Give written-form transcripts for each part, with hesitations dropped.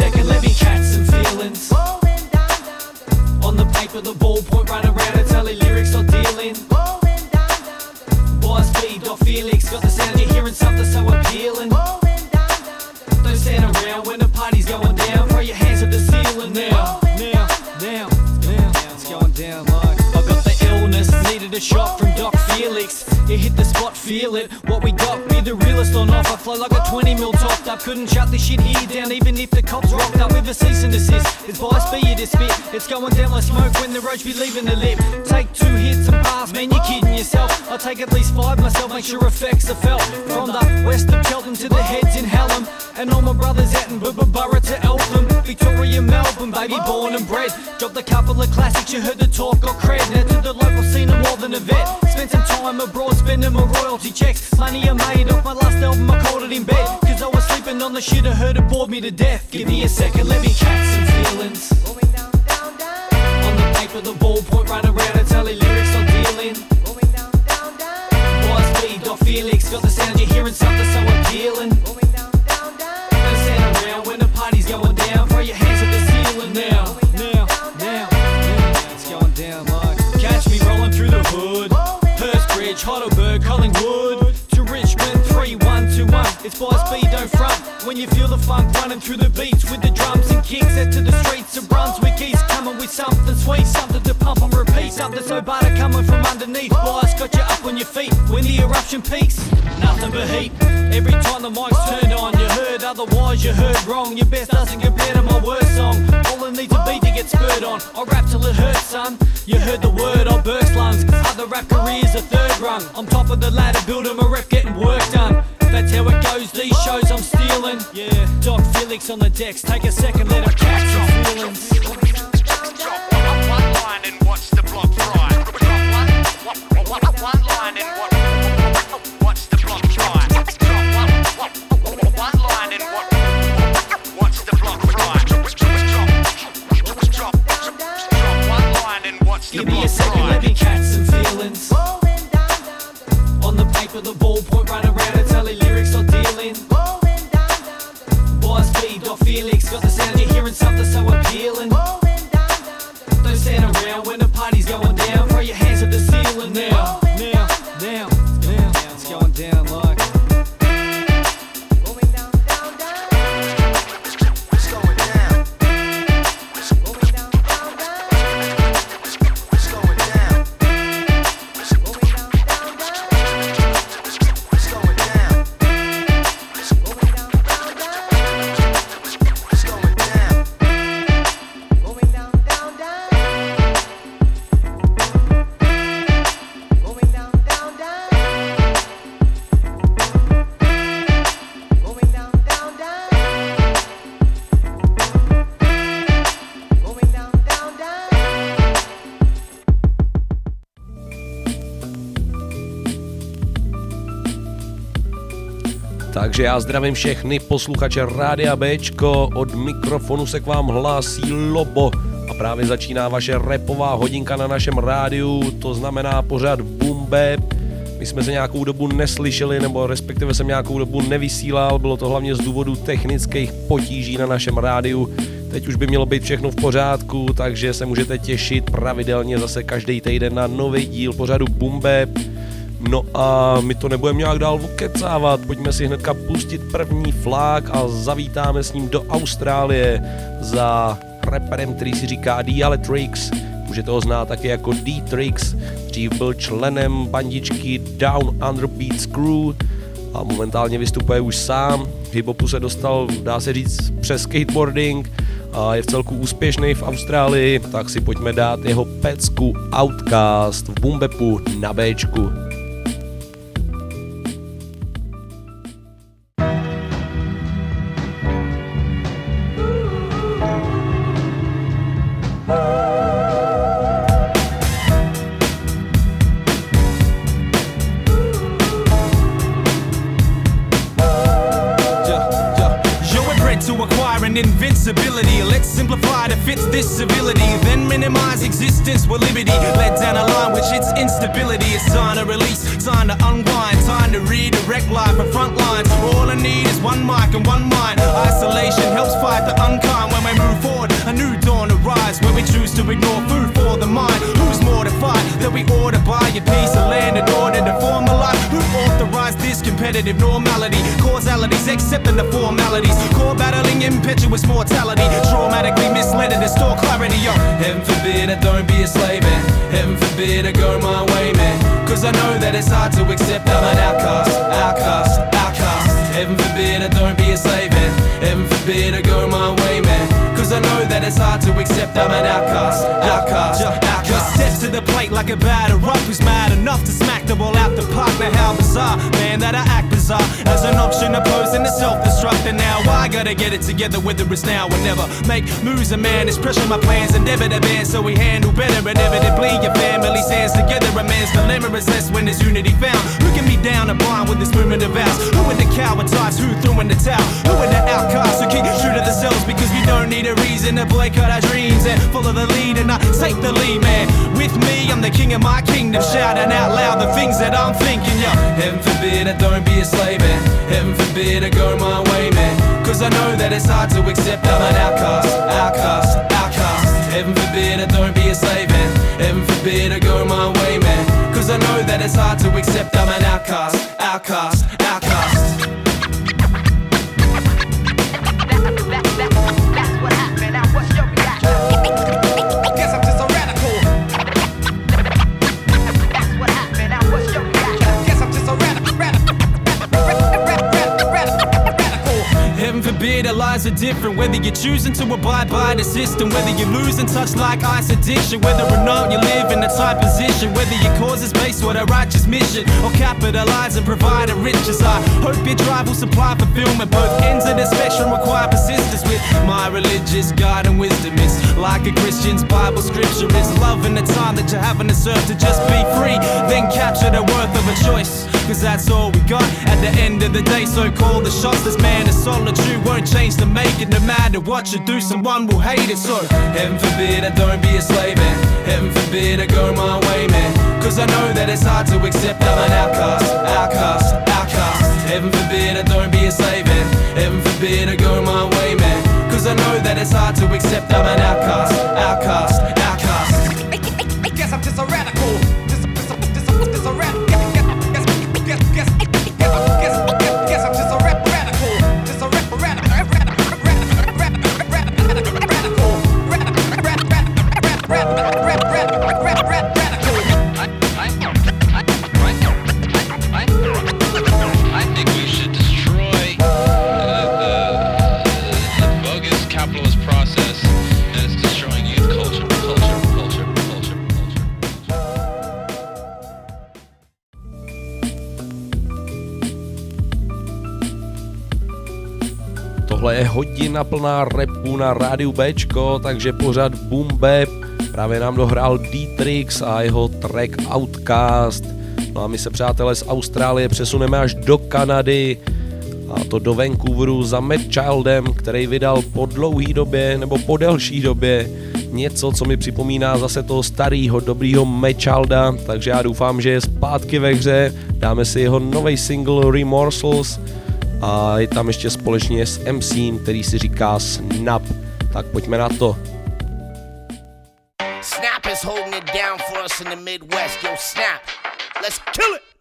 second, let me catch some feelings. On the paper, the ballpoint run around and telling lyrics not dealing. Boss B, Doc Felix, got the sound, you're hearing something so appealing. Don't stand around when the party's going down, throw your hands to the ceiling now. Now, it's going down like I got the illness, needed a shot from Doc Felix. You hit the spot, feel it, what we got, be the realest on off. I flow like a 20 mil topped up, couldn't shut this shit here down even if the cops rocked up with a cease and desist. It's bias for you to spit, it's going down like smoke when the roach be leaving the lip. Take 2 hits and pass, man you're kidding yourself. I'll take at least 5 myself, make sure effects are felt. From the west of Cheltenham to the heads in Hallam, and all my brothers out in Borough to Eltham, Victoria, Melbourne, baby born and bred. Dropped a couple of classics, you heard the talk, got cred. Now to the local scene I'm more than a vet. Spent some time abroad, spending my royalty checks. Money I made off my last album, I called it in bed. Cause I was sleeping on the shit, I heard it bored me to death. Give me a second, let me catch some feelings. On the paper, the ballpoint run around and telling lyrics not dealing. Boss B, Doc Felix, got the sound, you're hearing something so appealing. Don't stand around when the party's going down, throw your hands to the ceiling now. It's going down like catch me rolling through the hood. Hurstbridge, Heidelberg, Collingwood to Richmond, 3121. It's Boss B, don't front when you feel the funk running through the beats with the drums and kicks. Head to the streets of Brunswick East, coming with something sweet, something to pump and repeat, something so butter coming from underneath. Boss got you up on your feet when the eruption peaks. Nothing but heat every time the mic's turned on. You heard otherwise, you heard wrong. Your best doesn't compare to my worst song. All it needs a beat to get spurred on. I rap till it hurts, son. You heard the word, I burst lungs. Other rap careers a third rung. I'm top of the ladder, building my rep, getting work done. That's how it goes, these shows I'm stealing. Yeah, Doc Felix on the decks, take a second, let him catch some feelings. Drop one line and watch the block fry. Drop one line and watch the block fry. Drop one line and watch the block fry. Drop one line and watch the block fry. Give me a second, let me catch some feelings. On the paper, the ballpoint run around and telling lyrics not dealing. Boss B, Doc Felix, got the sound, you're hearing something so appealing. Don't stand around when the party's going down, throw your hands to the ceiling now. It's going down like Takže já zdravím všechny posluchače Rádia Bčko, od mikrofonu se k vám hlásí Lobo a právě začíná vaše rapová hodinka na našem rádiu, to znamená pořád Boom Bap. My jsme se nějakou dobu neslyšeli, nebo respektive jsem nějakou dobu nevysílal, bylo to hlavně z důvodu technických potíží na našem rádiu. Teď už by mělo být všechno v pořádku, takže se můžete těšit pravidelně zase každý týden na nový díl pořadu Boom Bap. No a my to nebudeme nějak dál vokecávat, pojďme si hnedka pustit první flák a zavítáme s ním do Austrálie za raperem, který si říká Dialectrix. Můžete ho znát taky jako D-Trix, dřív byl členem bandičky Down Under Beats Crew a momentálně vystupuje už sám. V hiphopu se dostal, dá se říct, přes skateboarding a je v celku úspěšný v Austrálii, tak si pojďme dát jeho pecku Outcast v Boom Bapu na Bčku. Invincibility, let's simplify to fit this civility, then minimize existence with liberty, led down a line which hits instability. It's time to release, time to unwind, time to redirect life from front lines. All I need is one mic and one mind. Isolation helps fight the unkind. a piece of land in order to form a life. Who authorized this competitive normality? Causalities accepting the formalities. Core battling impetuous mortality. Traumatically misled to distort clarity. Yo, heaven forbid I don't be a slave, man. Heaven forbid I go my way, man. Cause I know that it's hard to accept I'm an outcast, outcast, outcast. Heaven forbid I don't be a slave, man. Heaven forbid I go my way, man. Cause I know that it's hard to accept I'm an outcast, outcast, outcast. Just steps to the plate like a batter up who's mad enough to smack the ball out the park. Now how bizarre, man, that I act bizarre as an option opposing to self-destruct. And now I gotta get it together, whether it's now or never. Make moves, a man is pressure my plans and never the band, so we handle better. Inevitably your family stands together. A man's dilemma is less when there's unity found. Looking me down and blind with this movement of vows. Who are the coward types who threw in the towel? Who are the outcasts who keep true to themselves because we don't need a reason to boycott our dreams and follow the lead and I take the lead, man. With me, I'm the king of my kingdom, shouting out loud the things that I'm thinking, yo. Heaven forbid I don't be a slave, man. Heaven forbid I go my way, man. Cause I know that it's hard to accept I'm an outcast, outcast, outcast. Heaven forbid I don't be a slave, man. Heaven forbid I go my way, man. Cause I know that it's hard to accept I'm an outcast, outcast, outcast. That's what happened. Now what's your reaction? Guess I'm just a radical. That's what happened. Now what's your reaction? Guess I'm just a radical. Heaven forbid our lives are different. Whether you're choosing to abide by the system, whether you're losing touch like ice addiction, whether or not you live in a tight position, whether your cause is based on a righteous mission or capitalize and provide a riches. I hope your drive will supply fulfillment. Both ends of the spectrum require persistence. With my religious guide and wisdom, it's like a Christian's Bible scripture is love in the time that you're having to serve to just be free, then capture the worth of a choice. Cause that's all we got at the end of the day. So call the shots. This man is solitude, won't change to make it. No matter what you do, someone will hate it. So heaven forbid I don't be a slave, man. Heaven forbid I go my way, man. Cause I know that it's hard to accept I'm an outcast, outcast, outcast. Heaven forbid I don't be a slave, man. Heaven forbid I go my way, man. Cause I know that it's hard to accept I'm an outcast, outcast, outcast. Guess I'm just a radical. Just a radical. Guess I'm just a radical. Just a I think we should destroy the bogus capitalist process that is destroying youth culture. Tohle je hodina plná rapu na rádiu Bčko, takže pořad Boom Bap. Právě nám dohrál D-Trix a jeho track Outcast. No a my se, přátelé, z Austrálie přesuneme až do Kanady, a to do Vancouveru za Mad Childem, který vydal po dlouhý době, nebo po delší době, něco, co mi připomíná zase toho starého, dobrýho Mad Childa, takže já doufám, že je zpátky ve hře. Dáme si jeho nový single Remorsals a je tam ještě společně s MCem, který si říká Snap. Tak pojďme na to. Snap is holding it down for us in the Midwest. Yo, Snap, let's kill it.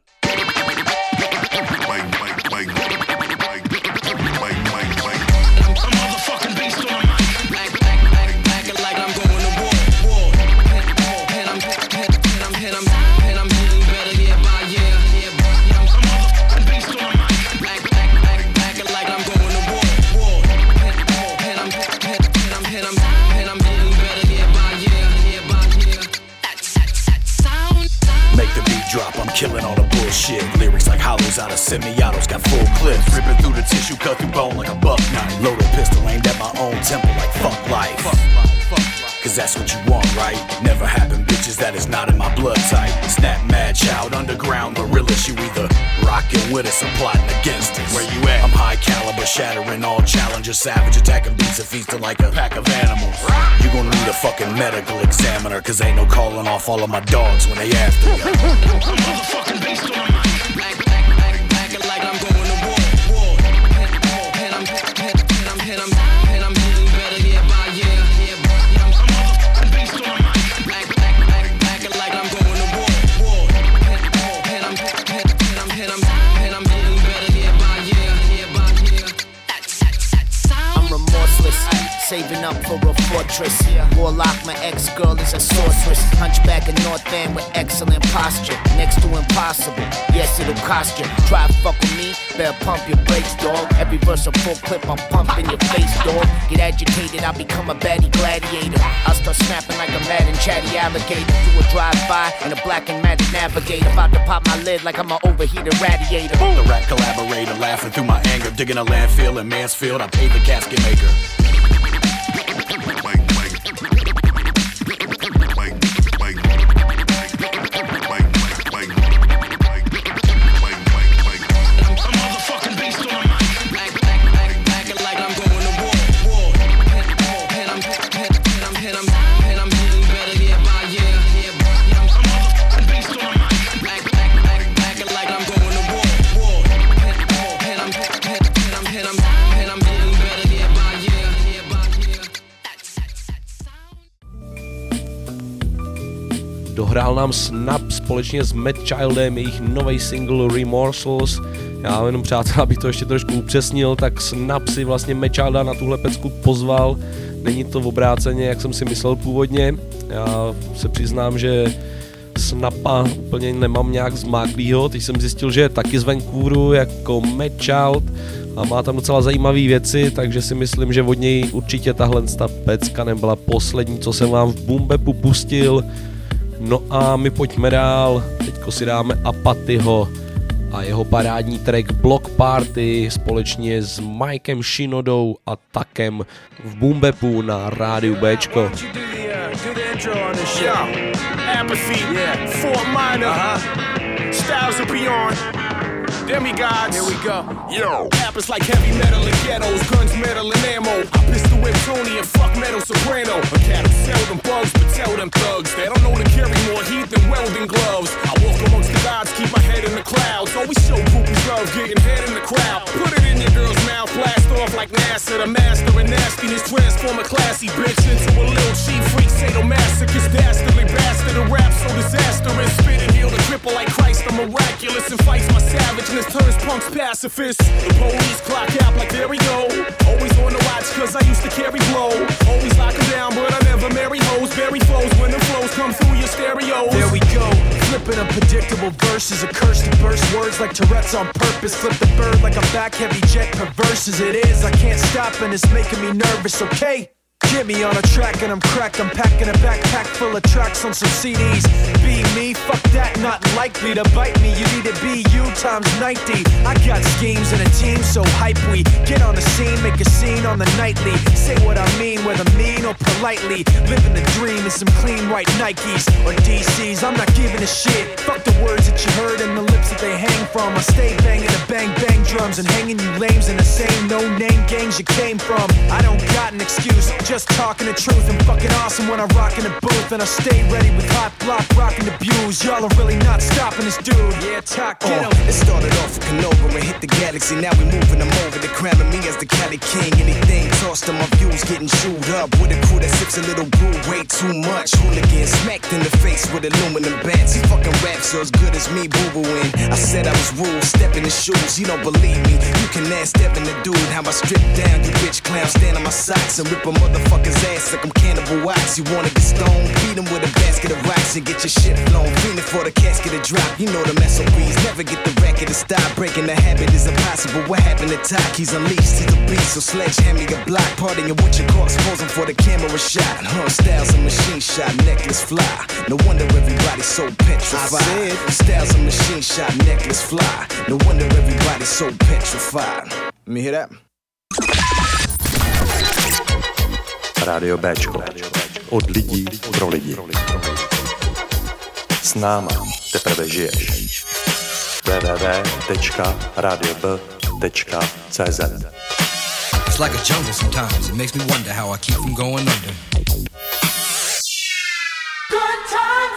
Killing all the bullshit. Lyrics like hollows out of semi-autos, got full clips. Ripping through the tissue, cut through bone like a buck knife. Loaded pistol aimed at my own temple like fuck life. Cause that's what you want, right? Never happened, bitches, that is not in my blood type. Snap, Mad Child, underground gorillas. You either rockin' with us or plotting against us. Where you at? I'm high caliber, shattering all challengers. Savage, attacking beats and feasting like a pack of animals. You gon' need a fucking medical examiner, cause ain't no calling off all of my dogs when they after you. Motherfucking beast on my acting like I'm going to war. And I'm getting better year by year. I'm motherfucking beast on my acting like I'm going to war. saving up for a fortress. Warlock, my ex-girl is a sorceress. Hunchback in North End with excellent posture. Next to impossible, yes, it'll cost you. Try to fuck with me, better pump your brakes, dog. Every verse a full clip, I'm pumping your face, dog. Get agitated, I'll become a baddie gladiator. I'll start snapping like a mad and chatty alligator. Do a drive-by in a black and matte Navigator. About to pop my lid like I'm an overheated radiator. The rat collaborator, laughing through my anger. Digging a landfill in Mansfield, I paid the casket maker. Dohrál nám Snap společně s Mad Childem jejich nový single Remorsals. Já jenom, přátelé, abych to ještě trošku upřesnil, tak Snap si vlastně Mad Childa na tuhle pecku pozval. Není to v obráceně, jak jsem si myslel původně. Já se přiznám, že Snapa úplně nemám nějak zmáklýho. Teď jsem zjistil, že je taky z Vancouveru jako Mad Child a má tam docela zajímavé věci, takže si myslím, že od něj určitě tahle pecka nebyla poslední, co jsem vám v Boom Bapu pustil. No a my pojďme dál, teďko si dáme Apatyho a jeho parádní track Block Party společně s Mikem Shinodou a Takem v Boom Bapu na rádiu Bčko. Demigods, here we go. Yo, rappers like heavy metal and ghettos, guns, metal and ammo. I pistol whip Tony and fuck metal soprano. A cat who sell them bugs, but tell them thugs they don't know to carry more heat than welding gloves. I walk amongst the gods, keep my head in the clouds. Always show groupies love, getting head in the crowd. Put it in your girl's mouth, blast off like NASA. The master of nastiness, transform a classy bitch into a little cheap freak, sadomasochist, dastardly bastard. A rap so disastrous, spit and heal the cripple like Christ. I'm miraculous and fights my savageness. Turns punks pacifists. The police clock out like there we go. Always on the watch cause I used to carry blow. Always lock them down but I never marry hoes. Bury foes when the flows come through your stereos. There we go. Flipping unpredictable verses. A curse to burst words like Tourette's on purpose. Flip the bird like a back heavy jet. Perverse as it is, I can't stop and it's making me nervous, okay? Get me on a track and I'm crack. I'm packing a backpack full of tracks on some CDs. Be me, fuck that, not likely to bite me. You need to be you times 90. I got schemes and a team so hype we get on the scene, make a scene on the nightly. Say what I mean, whether mean or politely. Living the dream in some clean white Nikes or DCs. I'm not giving a shit. Fuck the words that you heard and the lips that they hang from. I stay banging the bang bang drums and hanging you lames in the same no name gangs you came from. I don't got an excuse. Just talking the truth, I'm fucking awesome when I rock in the booth. And I stay ready with hot block, rocking the views. Y'all are really not stopping this dude. Yeah, talk, get him. It started off with Canova and hit the galaxy. Now we moving them over, they crowning me as the Cali King. Anything tossed to my views, getting chewed up with a crew that sips a little brew, way too much. Hooligan smacked in the face with aluminum bats. He fucking raps so as good as me, boo-booing. I said I was rude, step in the shoes. You don't believe me, you can ask Devin the dude how I strip down you bitch clowns, stand on my socks and rip a motherfucker's ass like I'm Cannibal Wax. You wanna get stoned, beat him with a basket of rocks and get your shit flown. Feeling for the casket to drop, you know them SOBs. Never get the racket to stop, breaking the habit is impossible. What happened to Talk? He's unleashed, he's a beast, so sledgehammer your block. Partying with your corpse, posing for the camera shot. Styles and machine shot, necklace fly. No wonder everybody's so petrified. I said, styles and machine shot, necklace fly. No wonder everybody's so petrified. Let me hear that. Rádio Bčko. Od lidí pro lidi. S náma teprve žiješ. www.radiob.cz. It's like a jungle sometimes. It makes me wonder how I keep from going under. Good times.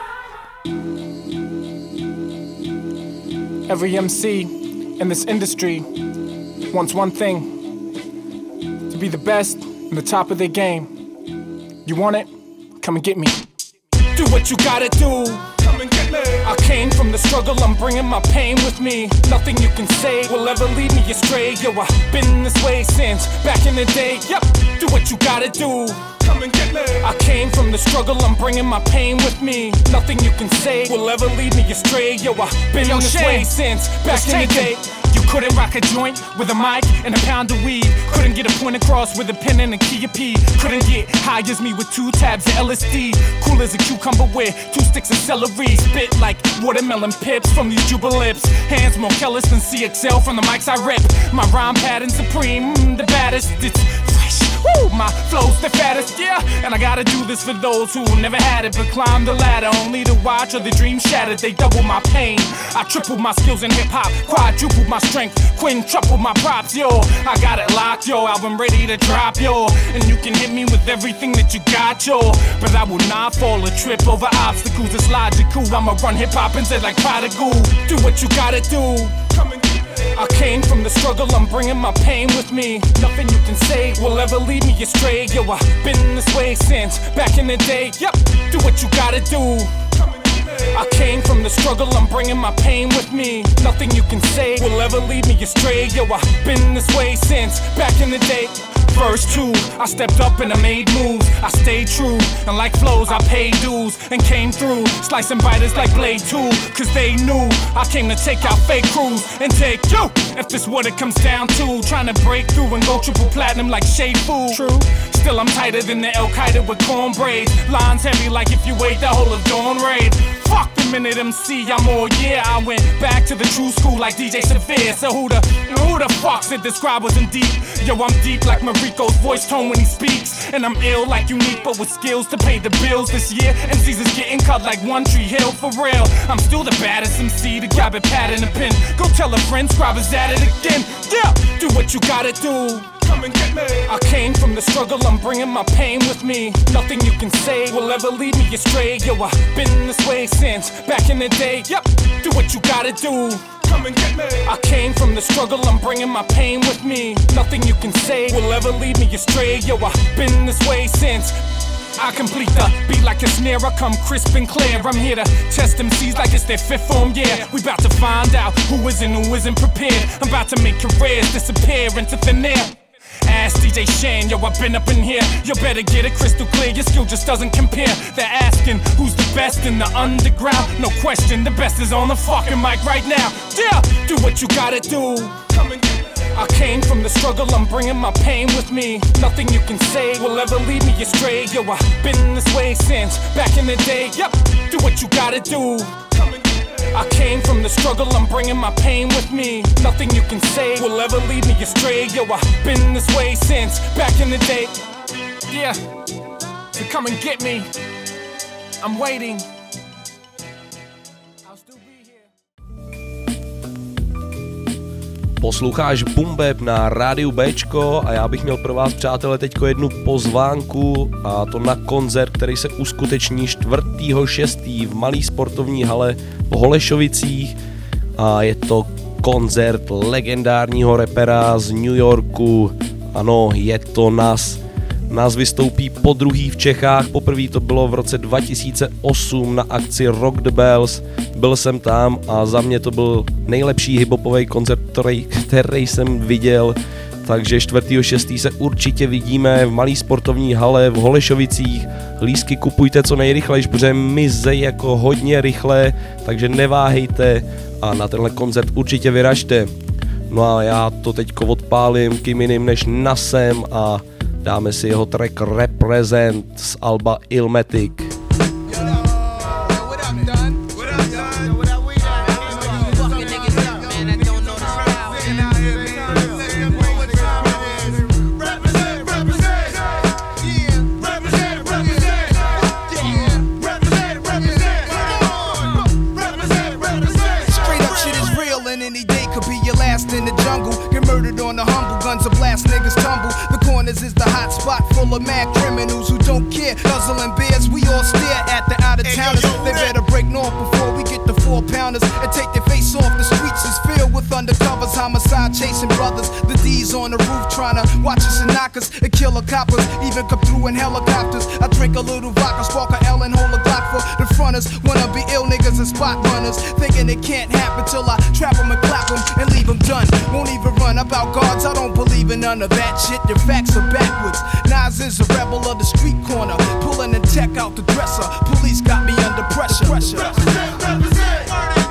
Every MC in this industry wants one thing: to be the best and the top of their game. You want it? Come and get me. Do what you gotta do. Come and get me. I came from the struggle, I'm bringing my pain with me. Nothing you can say will ever lead me astray. Yo, I've been this way since back in the day. Yep, do what you gotta do. Come and get me. I came from the struggle, I'm bringing my pain with me. Nothing you can say will ever lead me astray. Yo, I've been this way since back in the day. You couldn't rock a joint with a mic and a pound of weed. Couldn't get a point across with a pen and a key of P. Couldn't get high as me with 2 tabs of LSD. Cool as a cucumber with 2 sticks of celery. Spit like watermelon pips from these Jubalips. Hands more careless than CXL from the mics I rip. My rhyme pattern supreme, the baddest. It's fresh. Woo, my flow's the fattest, yeah. And I gotta do this for those who never had it but climbed the ladder only to watch other dreams shattered. They double my pain. I tripled my skills in hip-hop, quadrupled my strength, quintupled my props, yo. I got it locked, yo, album ready to drop, yo. And you can hit me with everything that you got, yo. But I will not fall or trip over obstacles, it's logical. I'ma run hip-hop and say like prodigal. Do what you gotta do. Come and get me. I came from the struggle, I'm bringing my pain with me. Nothing you can say will ever lead me astray. Yo, I've been this way since back in the day. Yep, do what you gotta do. I came from the struggle, I'm bringing my pain with me. Nothing you can say will ever lead me astray. Yo, I've been this way since back in the day. Verse 2, I stepped up and I made moves. I stayed true, and like flows, I paid dues and came through, slicing biters like Blade 2. Cause they knew I came to take out fake crews and take you. If this what it comes down to, trying to break through and go triple platinum like Shea Fu. True, still I'm tighter than the Al Qaeda with corn braids. Lines heavy like if you ate the whole of Dawn Raid. Fuck the minute MC, I'm all yeah. I went back to the true school like DJ Severe. So who the fuck said this scribe wasn't deep? Yo, I'm deep like Mariko's voice tone when he speaks. And I'm ill like Unique but with skills to pay the bills this year. MCs is getting cut like One Tree Hill for real. I'm still the baddest MC to grab a pad and a pen. Go tell a friend, scribe is at it again. Yeah, do what you gotta do. Come and get me. I came from the struggle, I'm bringing my pain with me. Nothing you can say will ever lead me astray. Yo, I've been this way since back in the day. Yep, do what you gotta do. Come and get me. I came from the struggle, I'm bringing my pain with me. Nothing you can say will ever lead me astray. Yo, I've been this way since. I complete the beat like a snare, I come crisp and clear. I'm here to test MCs like it's their 5th form, yeah. We about to find out who is and who isn't prepared. I'm about to make careers disappear into thin air. Ask DJ Shane, yo, I've been up in here. You better get it crystal clear, your skill just doesn't compare. They're asking who's the best in the underground. No question, the best is on the fucking mic right now. Yeah, do what you gotta do. Come and get me. I came from the struggle, I'm bringing my pain with me. Nothing you can say will ever lead me astray. Yo, I've been this way since back in the day. Yep, do what you gotta do. Come and get me. I came from the struggle, I'm bringing my pain with me. Nothing you can say will ever lead me astray. Yo, I've been this way since back in the day. Yeah, so come and get me. I'm waiting. Posloucháš Boom Bap na rádiu Bčko a já bych měl pro vás, přátelé, teďko jednu pozvánku, a to na koncert, který se uskuteční 4.6. v malý sportovní hale v Holešovicích, a je to koncert legendárního rapera z New Yorku. Ano, je to Nas. Nas vystoupí podruhý v Čechách, poprvé to bylo v roce 2008 na akci Rock the Bells. Byl jsem tam a za mě to byl nejlepší hiphopový koncert, který jsem viděl. Takže 4.6. se určitě vidíme v malý sportovní hale v Holešovicích. Lístky kupujte co nejrychleji, protože mizej jako hodně rychle, takže neváhejte a na tenhle koncert určitě vyražte. No a já to teďko odpálím kým jiným než Nasem a dáme si jeho track Represent z alba Illmatic. Is the hot spot full of mad criminals who don't care. Guzzling beers, we all stare at the out-of-towners. They better break north before we get the 4-pounders and take their face off. The streets is filled with undercovers, homicide, chasing brothers. The D's on the roof trying to watch us and knock us and kill the coppers. Even come through in helicopters. I drink a little vodka, spark a L and hold a Glock for the fronters. Wanna be ill niggas and spot runners, thinking it can't happen till I trap them and clap them and leave them done. Won't even run about guards, I don't believe in none of that shit. Your facts are backwards. Nas is a rebel of the street corner, pulling the tech out the dresser. Police got me under pressure. Represent, represent.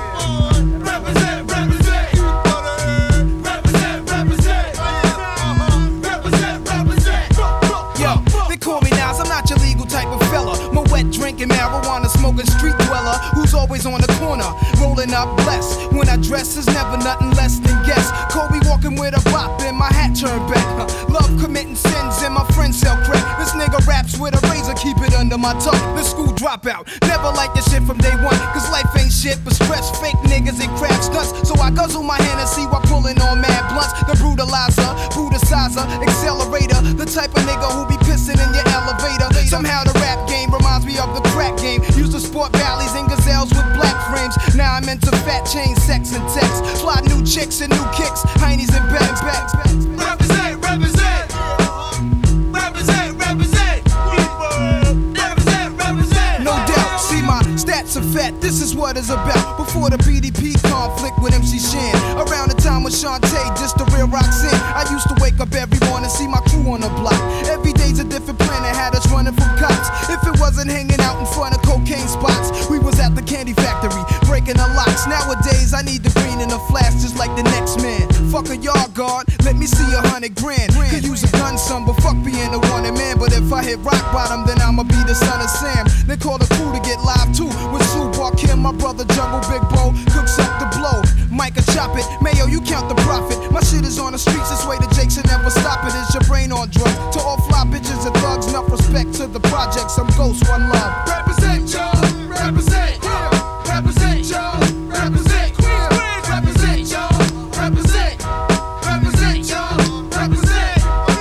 Drinking marijuana, smoking street dweller who's always on the corner, rolling up blessed. When I dress is never nothing less than guess. Kobe walking with a bop and my hat turned back. Love committing sins and my friends sell crack. This nigga raps with a razor, keep it under my tongue. The school dropout, never like this shit from day one. Cause life ain't shit but stress, fake niggas and crab stunts. So I guzzle my Hennessy while pulling on mad blunts. The brutalizer, brutalizer, accelerator. The type of nigga who be pissing in your elevator. Somehow the rap game reminds me of the crack game. Used to sport valleys and gazelles with black frames. Now I'm into fat chain, sex and text. Fly new chicks and new kicks, heinies and bags. Represent, represent. Represent, represent. Represent, represent. No doubt, see my stats are fat, this is what it's about. Before the PDP conflict with MC Shan, around the time with Shantae, just the real Roxanne. I used to wake up every morning, see my crew on the block. Every day's a different planet, had us running from cops. If it wasn't hanging out in front of cocaine spots, we was at the candy factory, breaking the locks. Nowadays, I need the green in a flash, just like the next man. Fuck a yard guard, let me see 100 grand. Could use a gun, son, but fuck being a wanted man. But if I hit rock bottom, then I'ma be the son of Sam. Then call the crew to get live too, with Sue Kim, my brother Jungle Big Bro, cooks up the blow. Micah chop it, Mayo, you count the profit. My shit is on the streets, this way the Jakes will never stop it. Is your brain on drugs? To all fly bitches and thugs, enough respect to the projects. I'm Ghost, one love. Represent, y'all, represent, represent, y'all, represent, Queens, represent, y'all, represent, represent, y'all, represent.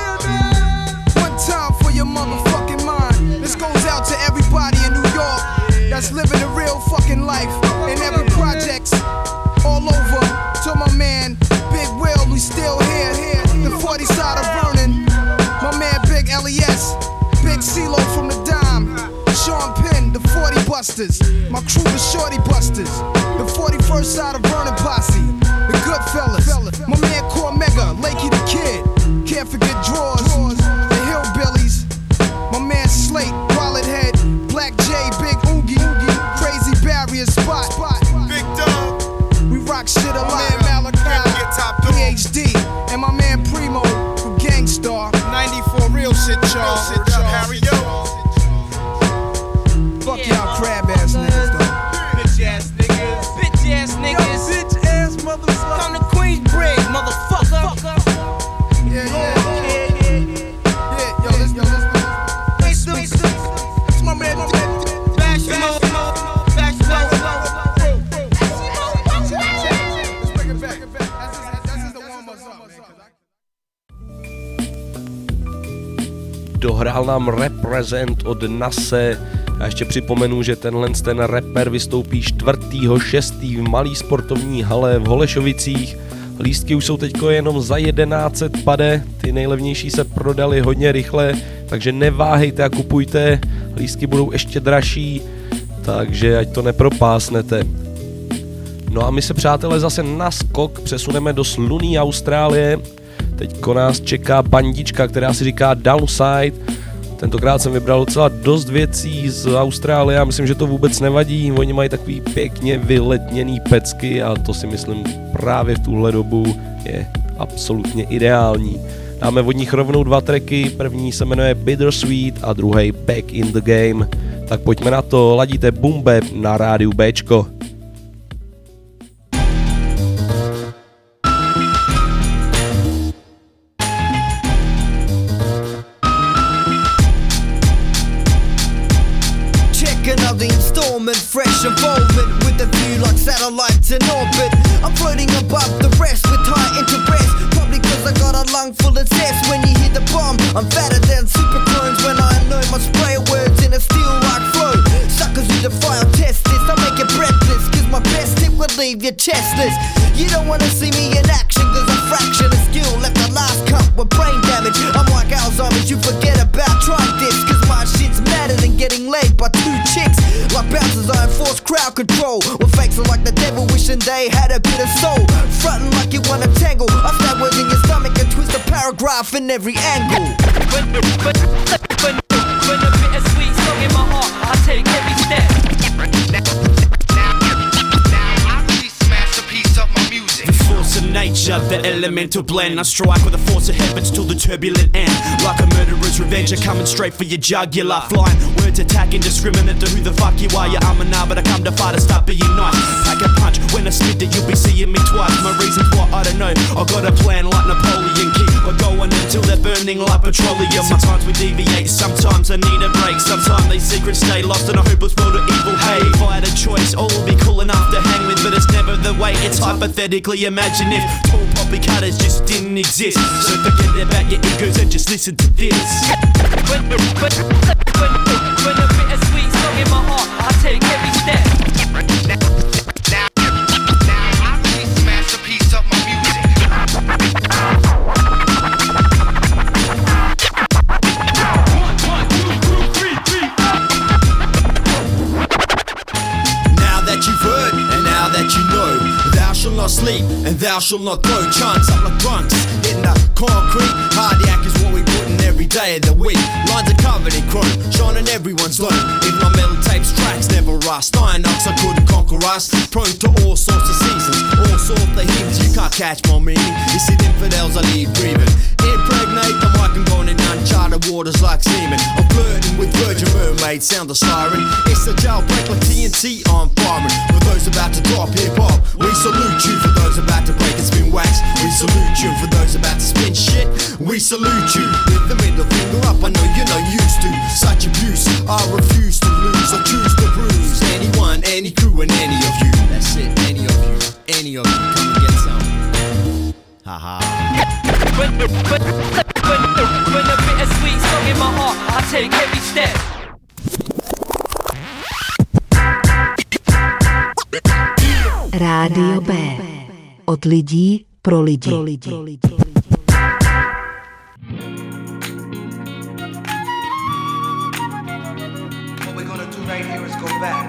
One time for your motherfucking mind. This goes out to everybody in New York that's living a real fucking life in every projects all over. To my man Big Will, we still here. The 40 side of Vernon. My man Big LES, Big CeeLo from the Dime, Sean Penn, the 40 Busters. My crew the Shorty Busters. The 41st side of Vernon Posse, the Goodfellas. My man Cormega, Lakey the Kid. Can't forget Drawers, the Hillbillies. My man Slate, Wallet Head, Black J, Big Oogie, Crazy Barrier Spot, Big Dub. We rock shit a lot. PhD, and my man Primo from Gangstar. 94 real shit, y'all. Harry, yo. Fuck y'all crab ass niggas, though. Bitch ass niggas. Bitch ass niggas. Yo, bitch ass motherfucker. Come to Queensbridge, motherfucker. Yeah. Yo, let's it's my man. Bash him up. Dohrál nám Represent od Nase. A ještě připomenu, že ten rapper vystoupí 4.6. v malý sportovní hale v Holešovicích. Lístky už jsou teďko jenom za 1100 pade, ty nejlevnější se prodaly hodně rychle, takže neváhejte a kupujte, lístky budou ještě dražší, takže ať to nepropásnete. No a my se, přátelé, zase na skok přesuneme do slunný Austrálie. Teďko nás čeká bandička, která si říká Downside. Tentokrát jsem vybral docela dost věcí z Austrálie a myslím, že to vůbec nevadí. Oni mají takový pěkně vyletněný pecky a to si myslím právě v tuhle dobu je absolutně ideální. Dáme od nich rovnou 2 tracky, první se jmenuje Bittersweet a druhý Back in the Game. Tak pojďme na to, ladíte Boom Bap na rádiu Bčko. Fresh involvement with a view like satellites in orbit. I'm floating above the rest with high interest. Probably cause I got a lung full of zest. When you hear the bomb, I'm fatter than super clones. When I know my spray words in a steel like flow. Suckers who defy or test this, I make it breathless. Cause my best tip will leave you chestless. You don't wanna see me in action, cause a fraction of skill left the last cup with brain damage. I'm like Alzheimer's, you forget about trying this, cause my shit's madder than getting laid by two chicks. Like bouncers, I enforce crowd control. Well, fakes are like the devil wishing they had a bit of soul. Frontin' like you wanna tangle, I stab words in your stomach and twist a paragraph in every angle. When a bit of sweet song in my heart, I take every step. Force of nature, the elemental blend. I strike with the force of heavens till the turbulent end. Like a murderer's revenge, coming straight for your jugular. Flying words attack indiscriminate to who the fuck you are. Yeah, I'm a nah, but I come to fight to stop being nice. Pack a punch, when I spit it, you'll be seeing me twice. My reasons why, I don't know. I got a plan like Napoleon. Keep going until they're burning like petroleum. Sometimes we deviate, sometimes I need a break. Sometimes these secrets stay lost in a hopeless world of evil. Hey, if I had a choice, all will be cool enough to hang with, but it's never the way. It's hypothetically. Imagine if tall poppy cutters just didn't exist. So forget about your egos and just listen to this. When a bit of sweet song in my heart, I take every step. Now I really smash a piece of my music. Now that you've heard and now that you know, thou shalt not sleep and thou shalt not throw chunks up like drunks in the concrete. Cardiac is what we put in every day of the week. Lines are covered in chrome, shining everyone's low. If my metal tapes tracks never rust, iron ox I couldn't conquer us. Prone to all sorts of seasons, all sorts of heathens. You can't catch my meaning. You see infidels I leave grieving. Impregnate the mic and going in uncharted waters like semen. I'm flirting with Virgin Mermaid, sound the siren. It's a jailbreak like TNT, I'm firing. For those about to drop hip hop, we salute you. For those about to break and spin wax, we salute you. For those about to spin shit, we salute you. With the middle finger up, I know you're not used to such abuse. I refuse to lose, I choose to bruise anyone, any crew and any of you. That's it, any of you, any of you. Come and get some. Haha. When a bit of sweet song in my heart, I take every step. Rádio B. Od lidí pro lidi. What we're gonna do right here is go back.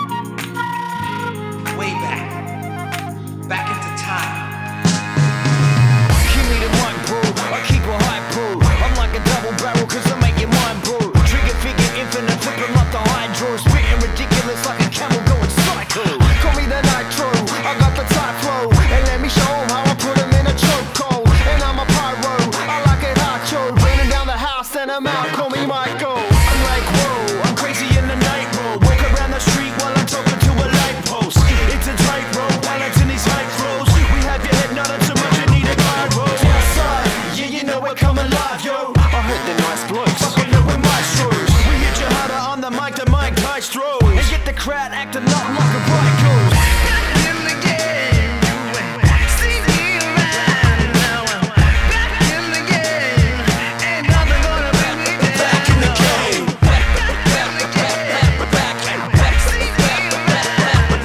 Way back. Back into time. Give me the mic, bro. I keep a high pro. I'm like a double barrel, cause I make your mind, bro. Trigger figure infinite, flipping like the hydro. Spitting ridiculous like a camel going psycho. Call me the nitro, I got the tight flow. And let me show 'em how I put 'em in a chokehold. And I'm a pyro, I like it hot-cho. Burning down the house and I'm out, call me Michael. I'm like, whoa, I'm crazy in the night, bro. Walk around the street while I'm talking to a light post. It's a tightrope, while it's in these high flows. We have your head nodding so much you need a guide road. Outside, yeah, you know we're coming live, yo. I heard the nice blokes, fucking up with maestros. We hit you harder on the mic than Mike Maestro. And get the crowd acting up like a riot goes. In the game, see me around now. Back in the game, ain't nothing gonna bring me down. Back in the game, back in the game, see me around.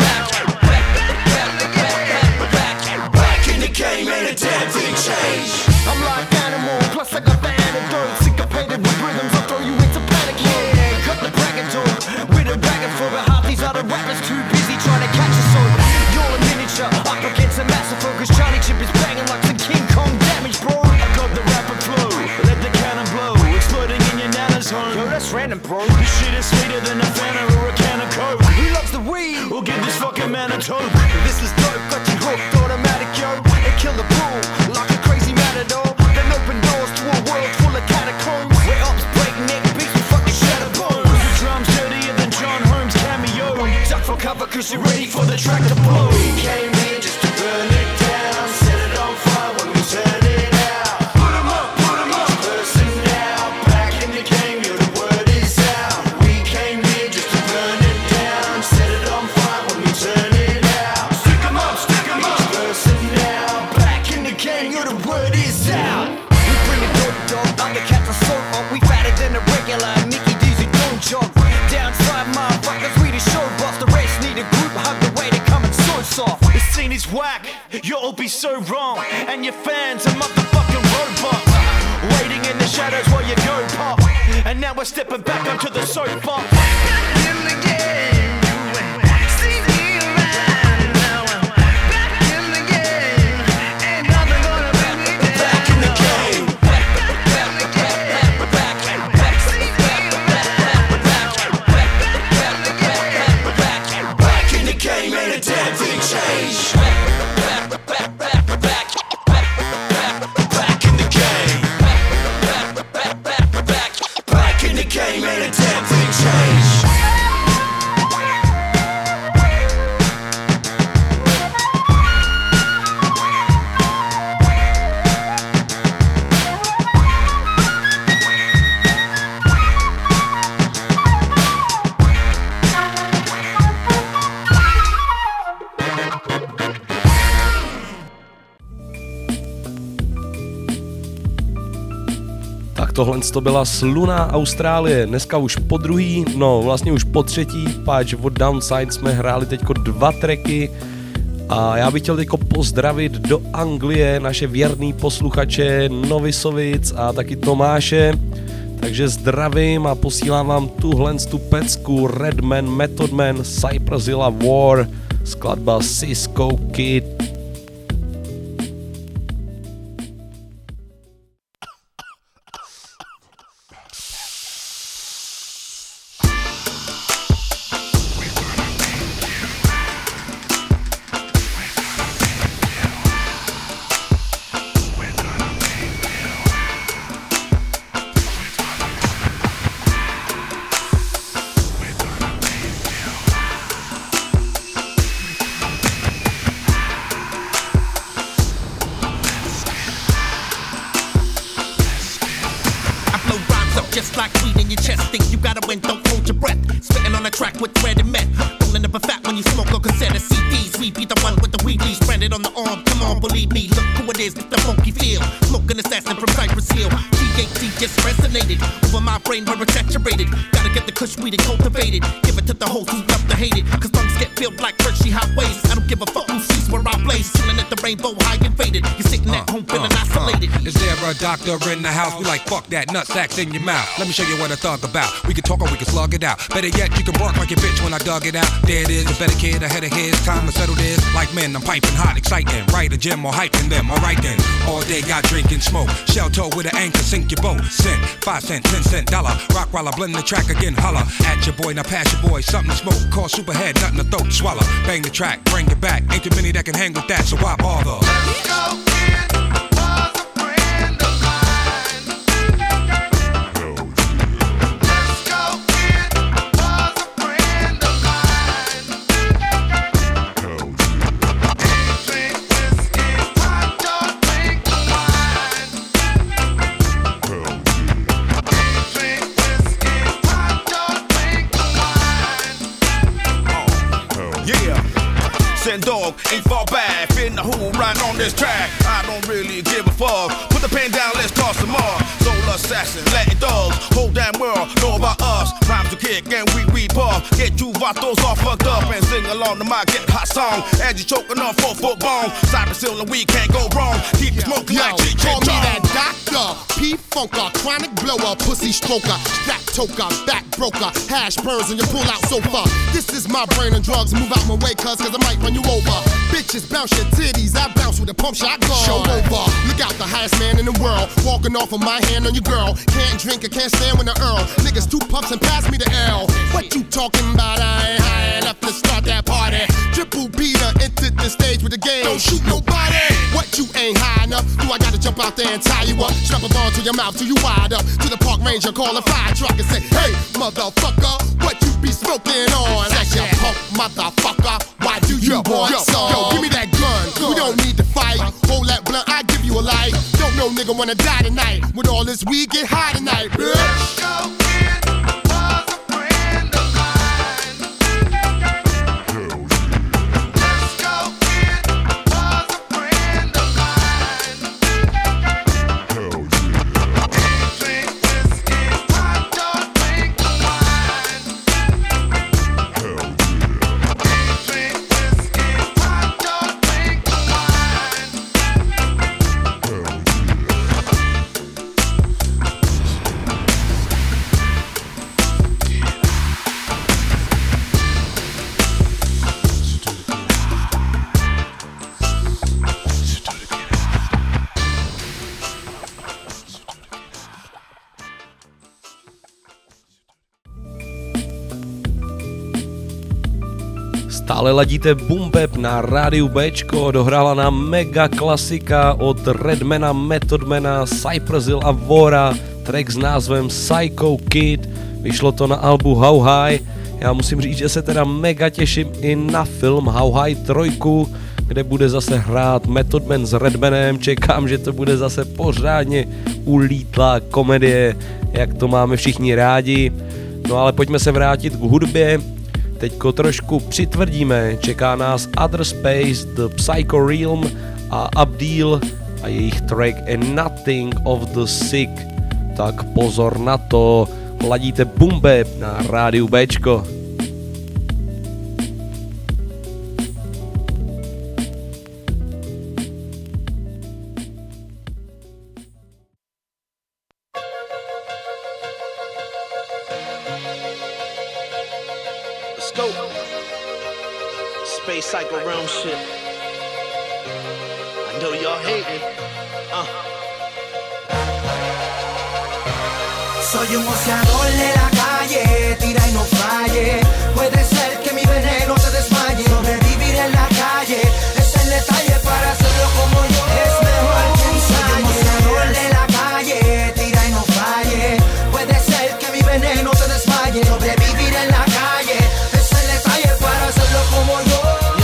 Back in the game, ain't a damn thing changed. I'm like animal, plus I got the antidote. Syncopated with rhythms, I'll throw you into panic. Yeah, cut the bracket door with a bracket for it. Half these other rappers too busy trying to catch us all. You're a miniature, up against a massive focus. Charlie Chip is banging like some King Kong damage, bro. I got the rapper flow, let the cannon blow. Exploding in your nana's home. Yo, that's random, bro. This shit is sweeter than a Fanta or a can of Coke. Who loves the weed? We'll give this fucking man a toke. This is dope, got you hooked, automatic, yo. And kill the bull like a crazy matador. Then open doors to a world full of catacombs. Where ups break neck beats with fucking shatter bones. The drums dirtier than John Holmes cameo. Duck for cover cause you're ready for the track to blow. We came here just to burn it down. Set it on fire when we turn it out. Put 'em up, each person now. Back in the game, yo, the word is out. We came here just to burn it down. Set it on fire when we turn it out. Stick 'em up, each person now. Back in the game, yo, the word is out. We bring it dope, dog. Undercats are so up. We fatter than a regular. Mickey D's who don't jog. Downside, motherfuckers, we the show boss. The rest need a group hug the way they come and so soft. The scene is whack. Yo, so wrong, and your fans are motherfucking robots, waiting in the shadows while you go pop. And now we're stepping back onto the soapbox. In the game, see me around now. Back in the game, ain't nothing gonna bring me down. Back in the game, back in the game, back see me around now. Back in the game, ain't a damn thing changed. Game ain't a damn thing changed. Tohle to byla Sluna Austrálie, dneska už po druhý, no vlastně už po třetí, páč od Downside jsme hráli teďko 2 tracky a já bych chtěl teďko pozdravit do Anglie naše věrný posluchače Novisovic a taky Tomáše, takže zdravím a posílám vám tuhle tu pecku Redman, Method Man, Cypressilla War, skladba Cisco Kid. Doctor in the house, we like fuck that nutsacks in your mouth. Let me show you what I thought about. We can talk or we can slug it out. Better yet, you can bark like a bitch when I dug it out. There it is, a better kid ahead of his time to settle this. Like men, I'm piping hot, exciting. Right, a gym or hyping them. Alright then, all day got drink and smoke. Shell toe with an anchor, sink your boat. Cent, 5 cent, 10 cent, dollar. Rock while I blend the track again, holla. At your boy, now pass your boy, something to smoke. Call superhead, nothing to throat, swallow. Bang the track, bring it back. Ain't too many that can hang with that, so why bother? Let's go. Dog ain't far back, in the hole right on this track. I don't really give a fuck. Put the pen down, let's toss some more. Soul assassin, Latin dogs, whole damn world know about us. Rhymes to kick and we puff. Get you vatos all fucked up and sing along to my get hot song. As you choking on 4-foot bone, Cypressilla and we can't go wrong. Keep it smoking like G. Call me that doctor, P-funker, chronic blower, pussy stroker, strap toker, back broker, hash burns in your pull-out sofa. This is my brain and drugs. Move out my way, cuz I might run you over. Bitches bounce your titties, I bounce with a pump shot gun. Show over, look out, the highest man in the world. Walking off of my hand on your girl. Can't drink, I can't stand with the Earl. Niggas 2 puffs and pass me the L. What you talking about? I ain't high enough to start that party. Triple Peter entered the stage with the game. Don't shoot nobody. What you ain't high enough? Do I gotta jump out there and tie you up? Strap a ball to your mouth till you wide up. To the park ranger, call a fire truck and say, hey, motherfucker, what you be smoking on? That's your punk motherfucker. Why do you want some? Yo, give me that gun. We don't need to fight. Hold that blunt, I give you a light. Don't know nigga wanna die tonight. With all this weed, get high tonight, bitch. Let's go. Stále ladíte Boom Bap na rádiu Bčko, dohrála nám mega klasika od Redmana, Methodmana, Cypress Hill a Vora, track s názvem Psycho Kid, vyšlo to na albu How High. Já musím říct, že se teda mega těším i na film How High 3, kde bude zase hrát Method Man s Redmanem, čekám, že to bude zase pořádně ulítlá komedie, jak to máme všichni rádi. No ale pojďme se vrátit k hudbě. Teďko trošku přitvrdíme, čeká nás Other Space, The Psycho Realm a Abdil a jejich track A Nothing of the Sick. Tak pozor na to, ladíte Boom Bap na rádiu Bčko. Space Psycho Realm shit. I know y'all hating. Soy un boxeador de la calle, tira y no falle. Puede ser que mi veneno te desmaye. Sobrevivir en la calle es el detalle para hacerlo como yo. Es mejor que ensaye. Soy un boxeador de la calle, tira y no falle. Puede ser que mi veneno te desmaye. Sobrevivir en la calle es el detalle para hacerlo como yo.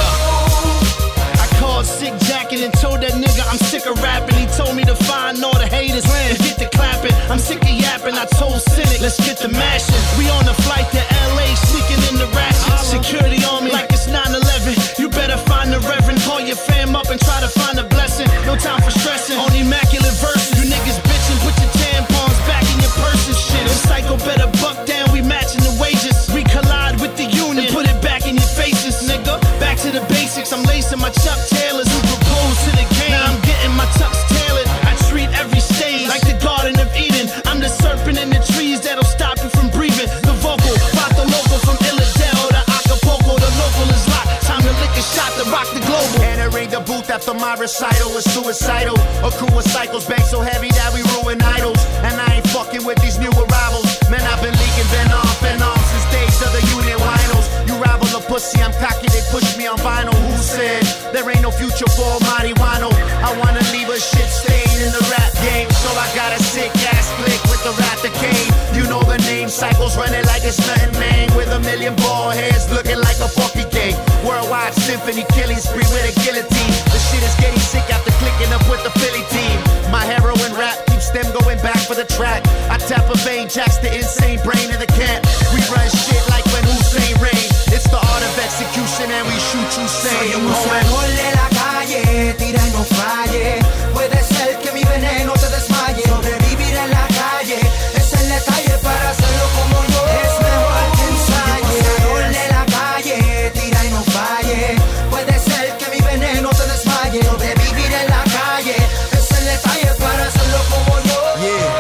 Sick jacket and told that nigga I'm sick of rapping. He told me to find all the haters and get to clapping. I'm sick of yapping. I told Cynic, let's get to mashing. We on the flight to LA, sneaking in the ratchet. Security on me like it's 9/11. You better find the reverend. Call your fam up and try to find a blessing. No time for stressing. On immaculate verses. You niggas bitching. Put your tampons back in your purse and shit. If Psycho better buck down, we matching the wages. We collide with the union and put it back in your faces, nigga. Back to the basics. I'm lacing my Chuck Taylors. To the game. Now I'm getting my tux tailored. I treat every stage like the Garden of Eden. I'm the serpent in the trees that'll stop you from breathing. The vocal, Vato Local from Illidale to Acapulco. The local is locked. Time to lick a shot to rock the global. Entering the booth after my recital was suicidal. A crew of cycles bang so heavy that we ruin idols. And I ain't fucking with these new arrivals. Man, I've been leaking venom since days of the unit winos. You rival a pussy, I'm cocky, they push me on vinyl. Who said there ain't no future for marijuana? I wanna leave a shit stain in the rap game, so I got a sick ass flick with the rat that came. You know the name, cycles running like it's nothing, man. With a million bald heads looking like a funky gang. Worldwide symphony, killing spree with a guillotine. The shit is getting sick after clicking up with the Philly team. My heroin rap keeps them going back for the track. I tap a vein, jacks the insane brain of the cat. We run shit like when Hussein rain. It's the art of execution and we shoot you sane. Soy un boxeador de la calle, tira y no falle. Puede ser que mi veneno te desmaye. Sobrevivir en la calle es el detalle para hacerlo como yo. Es mejor que ensaye. Soy un boxeador de la calle, tira y no falle. Puede ser que mi veneno te desmaye. Sobrevivir en la calle es el detalle para hacerlo como yo. Yeah,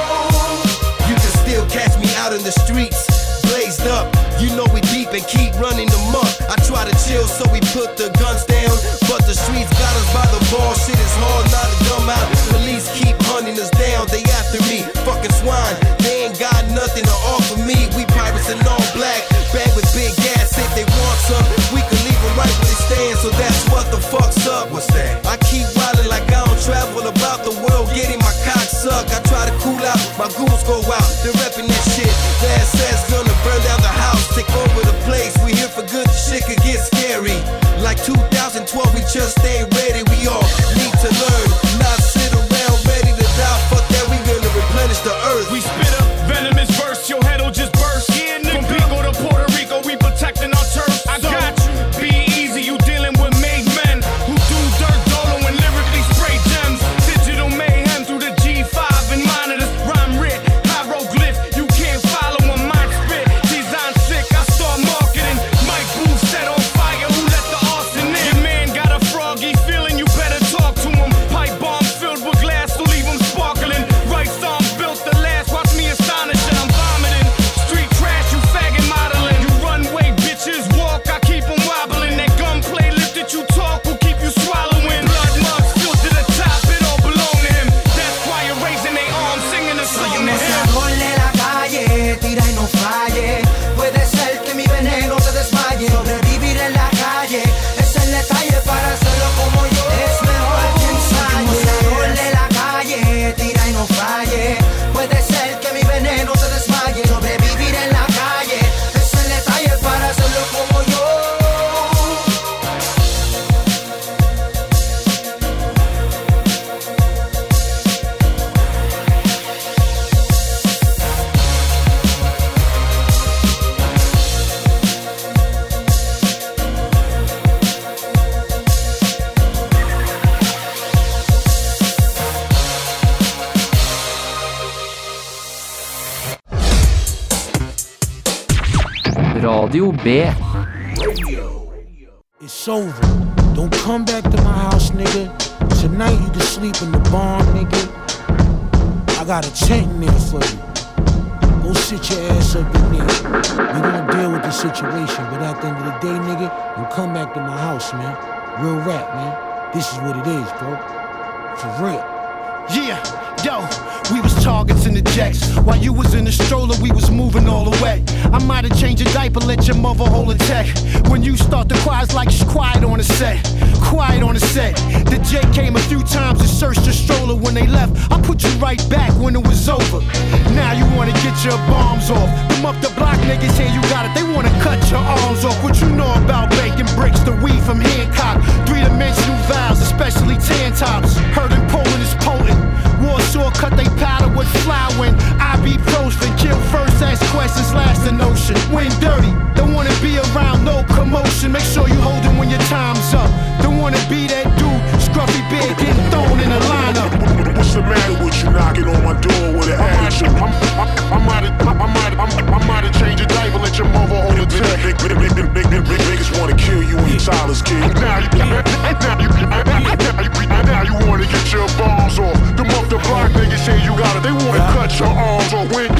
you can still catch me out in the streets, blazed up. You know we deep and keep running them up. I try to chill, so we put the guns down. But the streets got us by the ball. Shit is hard not to come out. Police keep hunting us down. They after me, fucking swine. They ain't got nothing to offer me. We pirates in all black, bag with big gas. If they want some, we can leave them right where they stand. So that's what the fuck's up. What's that? I keep wildin' like I don't travel about the world, getting my cock sucked. I try to cool out, my goons go out. They're repping that shit. The SS gonna burn down the house, take over the place. We here for good, the shit could get scary. Like 2012, we just ain't ready. We all need to learn, not sit around ready to die. Fuck that, we gonna replenish the earth. We spit a venomous verse, your head'll just burst. Yeah, from Pico to Puerto Rico, we protecting our turf. I got you. Be easy, you dealing with made men who do dirt Radio B. It's over. Don't come back to my house, nigga. Tonight you can sleep in the barn, nigga. I got a tent in there for you. Go sit your ass up in there. We gonna deal with the situation, but at the end of the day, nigga, don't come back to my house, man. Real rap, man. This is what it is, bro. For real. Yeah, yo, we was targets in the jacks. While you was in the stroller, we was moving all the way. I might have changed your diaper, let your mother hold a tech. When you start to cry, it's like she's quiet on the set. Quiet on the set. The J came a few times and searched the stroller. When they left, I put you right back when it was over. Now you wanna get your bombs off. Them up the block niggas here, you got it. They wanna cut your arms off. What you know about bacon bricks, the weed from Hancock, three-dimensional valves, especially tan tops. Heard in Poland is potent. Warsaw cut they powder with flour when ibuprofen. Kill first, ask questions, last the notion. When dirty, don't wanna be around no commotion. Make sure you hold it when your time's up. Don't wanna be that dude, scruffy beard getting thrown in a lineup. What's the matter with you knocking on my door with an attitude? I might have changed your diaper, let your mother hold a tech. Niggas wanna kill you when you're childless, kid. Now you wanna get your bombs off. Them up the block niggas say you got it. They wanna cut your arms off. When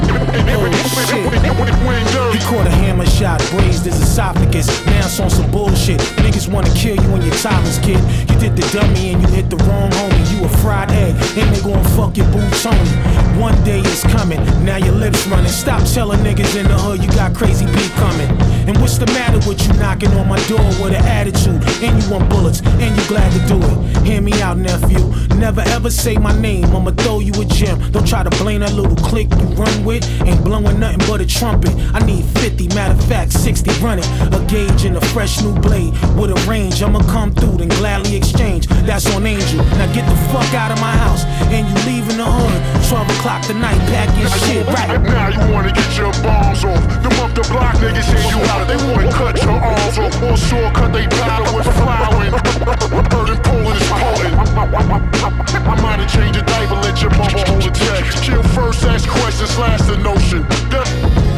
He caught a hammer shot, grazed his esophagus. Now it's on some bullshit. Niggas wanna kill you when you're childless, kid. You did the dummy and you hit the wrong homie. You a fried egg, and they gon' fuck your boots on you. One day is coming, now your lips running. Stop telling niggas in the hood you got crazy beat coming. And what's the matter with you knocking on my door with an attitude? And you want bullets, and you glad to do it. Hear me out, nephew. Never ever say my name, I'ma throw you a gem. Don't try to blame that little clique you run with. Ain't blowing nothing but a trumpet. I need 50, matter of fact, 60 running. A gauge and a fresh new blade with a range. I'ma come through, then gladly exchange. That's on Angel. Now get the fuck out of my house, and you leaving the hood. 12 o'clock tonight, pack your shit right. Now you wanna get your bombs off. Them up the block niggas say you got it. They wanna cut your arms off. Or sure cut they powder with flour. Heard in Poland is potent. I might have changed your diaper, let your mother hold a text. Kill first, ask questions, last the notion. Dirty.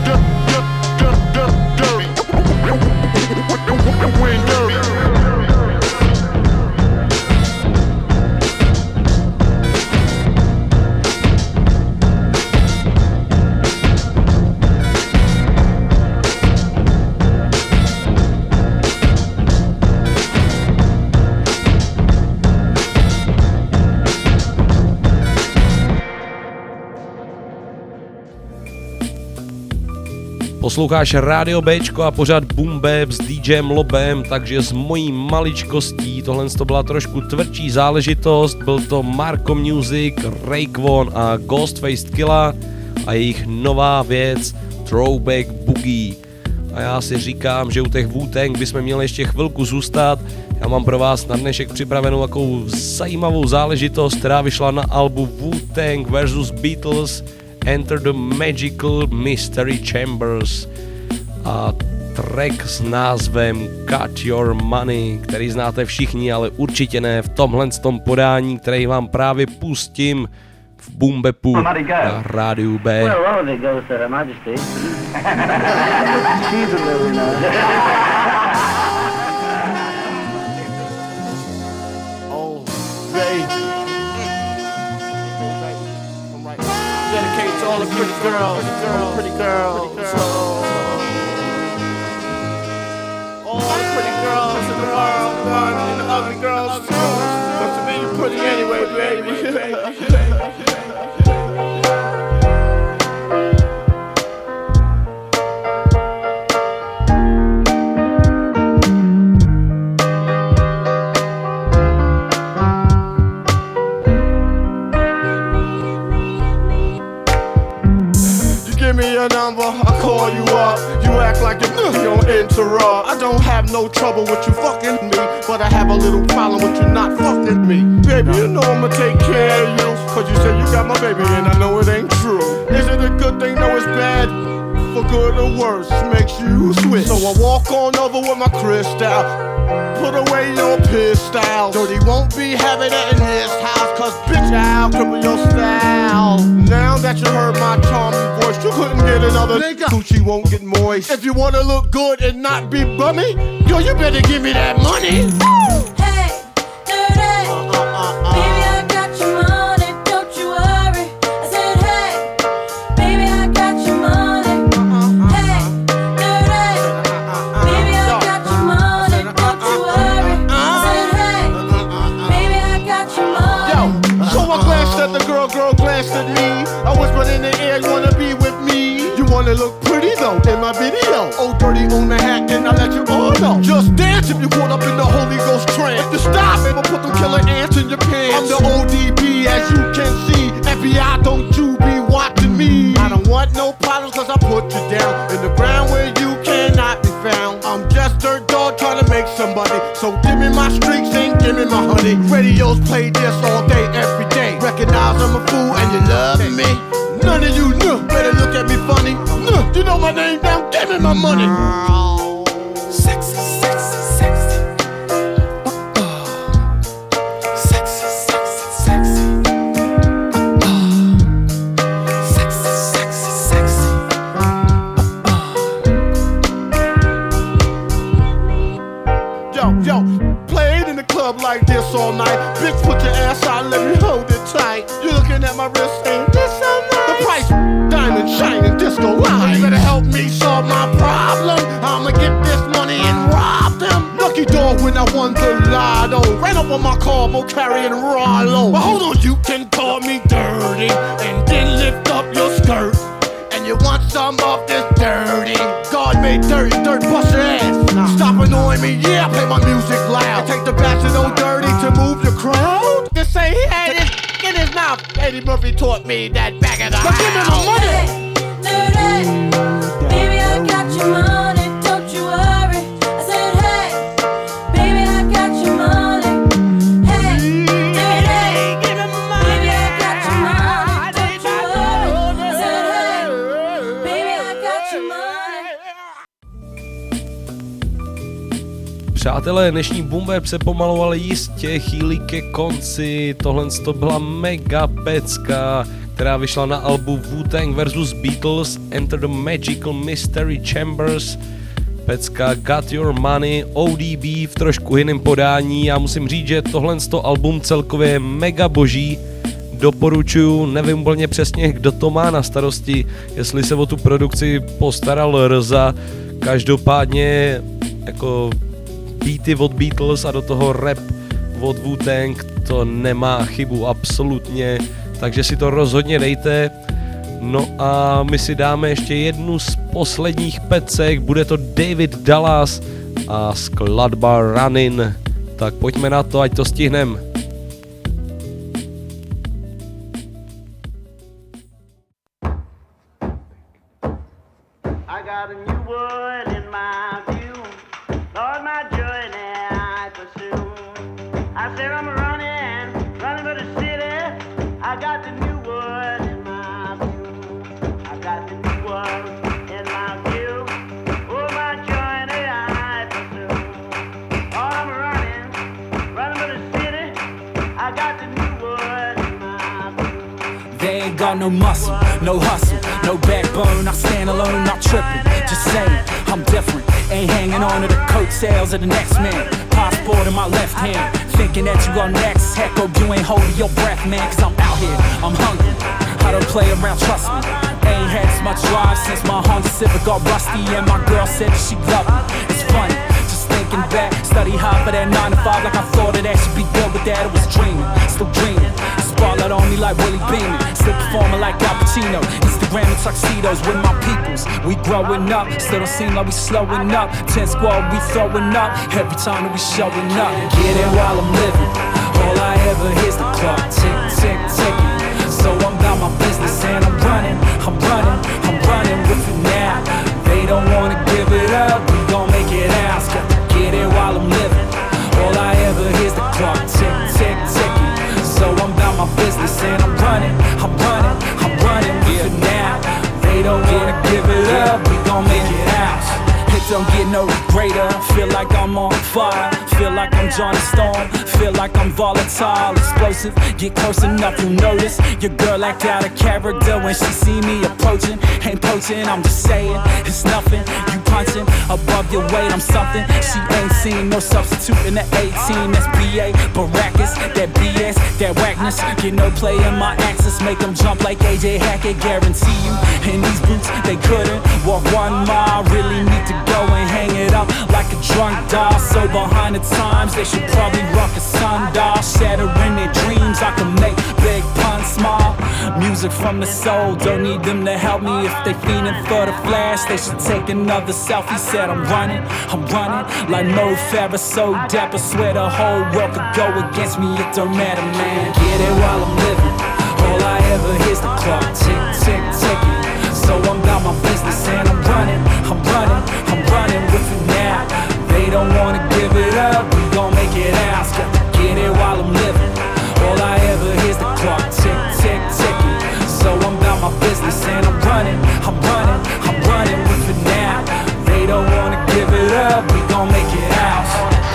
When dirty. Posloucháš Rádio Bčko a pořád Boom Bap s DJem Lobem, takže s mojí maličkostí tohle to byla trošku tvrdší záležitost. Byl to Marco Music, Raekwon a Ghostface Killah a jejich nová věc Throwback Boogie. A já si říkám, že u těch Wu-Tang bychom měli ještě chvilku zůstat. Já mám pro vás na dnešek připravenou takovou zajímavou záležitost, která vyšla na albu Wu-Tang vs. Beatles Enter the Magical Mystery Chambers a track s názvem Cut Your Money, který znáte všichni, ale určitě ne v tomhle podání, který vám právě pustím v Boom Bapu na Rádiu B. Dedicate to all the pretty girls, all the pretty girls in the world, and the ugly girls too. But to me, you're pretty anyway, baby. Give me your number, I call you up. You act like you're gonna interrupt. I don't have no trouble with you fucking me, but I have a little problem with you not fucking me. Baby, you know I'ma take care of you, cause you say you got my baby and I know it ain't true. Is it a good thing? No, it's bad. For good or worse, makes you switch. So I walk on over with my crystal. Put away your pistol. Dirty won't be having it in his house, cause bitch, I'll cripple your style. Now that you heard my charming voice, You couldn't get another nigga. Gucci won't get moist. If you wanna look good and not be bummy, yo, you better give me that money. Hey, dirty. Baby, I got your money, don't you worry. I said, hey, baby, I got your money. Hey, dirty. Baby, I got your money, don't you worry. I said, hey, baby, I got your money. Yo, so I glanced at the girl glanced at me. I whispered in the air, you wanna be with me? You wanna look pretty though in my video. Oh, dirty on the hat, and I let you all know. Just dance if you caught up in the Holy Ghost trance. To stop, baby, put them killer ants in your pants. I'm the ODB, as you can see. FBI, don't you be watching me. I don't want no problems, cause I put you down in the ground where you cannot be found. I'm just dirt dog trying to make somebody. So give me my streaks and give me my honey. Radios play this all day, every day. Recognize I'm a fool and you love me. None of you better look at me funny. You know my name now, give me my money. Sexy, sexy, sexy. Sexy, sexy, sexy. Sexy, sexy, sexy. Yo, played in the club like this all night. Bitch, put your ass out, let me hold it tight. You looking at my wrist, ain't this so nice? The price, diamond shining, disco line. You better help me solve my problem. I'ma get this money and rob them. Lucky dog when I won the lotto. Ran up on my car, mo carrying Rollo. But hold on, you can call me dirty and then lift up your skirt. And you want some of this dirty? God made dirty, dirt bust your ass. Stop annoying me, yeah, I play my music loud. I take the batch of no dirty to move the crowd. Just say he had it in his mouth. Eddie Murphy taught me that back of the house. Give me my money. Hey, baby, I got your money, don't you worry. I said, hey, baby, I got your money. Hey, dirty, give me my money. Baby, I got your money, don't you worry. I said, hey, baby, I got your money. Přátelé, dnešní Boom se pomalu, ale jistě chýlí ke konci. Tohle to byla mega pecka, která vyšla na albu Wu-Tang vs. Beatles Enter the Magical Mystery Chambers. Pecka Got Your Money, ODB v trošku jiném podání. Já musím říct, že tohle album celkově je mega boží. Doporučuju, nevím úplně přesně, kdo to má na starosti, jestli se o tu produkci postaral Rza. Každopádně jako beaty od Beatles a do toho rap od Wu-Tang, to nemá chybu absolutně, takže si to rozhodně dejte. No a my si dáme ještě jednu z posledních pecek, bude to David Dallas a skladba Runnin'. Tak pojďme na to, ať to stihneme. No muscle, no hustle, no backbone. I stand alone, not tripping. Just saying, I'm different. Ain't hanging on to the coattails of the next man. Passport in my left hand, thinking that you are next. Heck, oh, you ain't holding your breath, man. Cause I'm out here, I'm hungry. I don't play around, trust me. Ain't had as much drive since my Honda Civic got rusty. And my girl said that she loved me. It's funny, just thinking back. Study hard for that 9 to 5 like I thought it should be good with that. I was dreaming, still dreaming. Spotlight on me like Willie Beeman, still performing like Al Pacino. Instagram and tuxedos with my peoples. We growing up, still don't seem like we slowing up. 10 squad, we throwing up every time that we showing up. Get it while I'm living. All I ever hear's the clock tick, tick, ticking. So I'm about my business and I'm running with it now. They don't wanna give it up, we gon' make it out. Get it while I'm living. All I ever hear's the clock tick, tick, ticking. So I'm about my business and I'm running with it now. They don't wanna give it up, we gon' make it out. Hit don't get no greater. Feel like I'm on fire, feel like I'm Johnny Storm, feel like I'm volatile, explosive. Get close enough, you'll notice your girl act out of character when she see me approaching. Ain't poaching, I'm just saying, it's nothing. You punching above your weight, I'm something. She ain't seen no substitute in the 18. That's BA, Baracus, that BS, that whackness. Get no play in my axis, make them jump like AJ Hackett. Guarantee you, in these boots, they couldn't walk 1 mile. Really need to go and hang it up like a drunk doll. So behind the times, they should probably rock a sundial. Shattering their dreams, I can make big puns smile. Music from the soul, don't need them to help me. If they fiending for the flash, they should take another selfie. Said I'm running like Mo Farah, so dapper. Swear the whole world could go against me, it don't matter, man. Get it while I'm living, all I ever hear's the clock tick, tick, ticking. So I'm about my business and I'm running with it now. They don't wanna give it up, we gon' make it out. Got to get it while I'm living, all I ever hear's the clock tick, tick, ticking. So I'm about my business and I'm running with it now. They don't wanna give it up, we gon' make it out.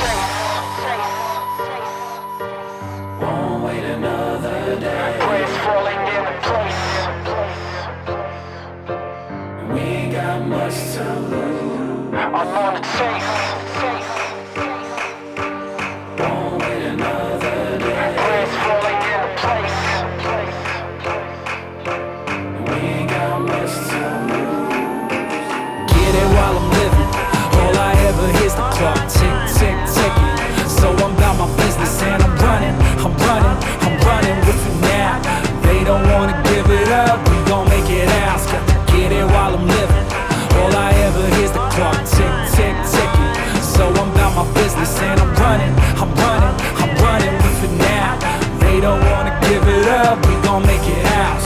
Won't wait another day. Praise falling into place. We ain't got much to lose. I'm on the chase. Won't wait another day. Praise falling into place. We ain't got much to lose. Get it while I'm living. All I ever hear's the clock tick, tick, ticking. So I'm about my business and I'm running with it now. They don't wanna give it up, we gon' make it out. Got to get it while I'm living. All I ever hear's the clock tick, tick, ticking. So I'm about my business and I'm running with it now. They don't wanna give it up, we gon' make it out.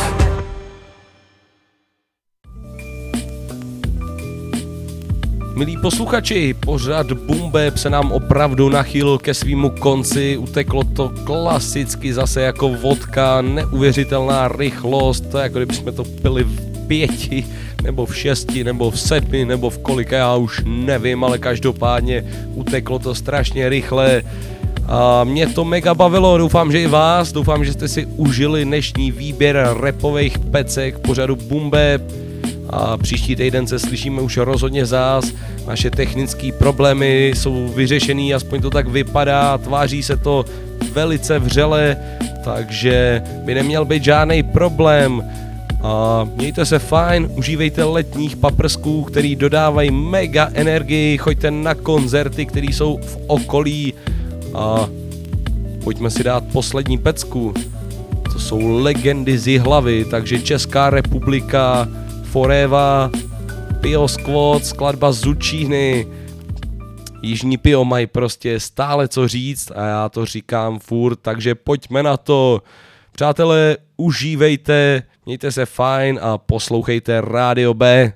Milí posluchači, pořad Boom Bap se nám opravdu nachýlil ke svýmu konci, uteklo to klasicky zase jako vodka, neuvěřitelná rychlost, to jako kdybychom to pili v 5, nebo v 6, nebo v 7, nebo v kolika, já už nevím, ale každopádně uteklo to strašně rychle a mě to mega bavilo, doufám, že i vás, doufám, že jste si užili dnešní výběr rapových pecek pořadu Boom Bap. A příští týden se slyšíme už rozhodně zás. Naše technické problémy jsou vyřešený, aspoň to tak vypadá, tváří se to velice vřele, takže by neměl být žádný problém. A mějte se fajn, užívejte letních paprsků, který dodávají mega energii, choďte na koncerty, které jsou v okolí a pojďme si dát poslední pecku. To jsou legendy z Jihlavy, takže Česká republika, Foreva, Pio Squad, skladba z Zučíny. Jižní Pio mají prostě stále co říct a já to říkám furt, takže pojďme na to. Přátelé, užívejte, mějte se fajn a poslouchejte Rádio B.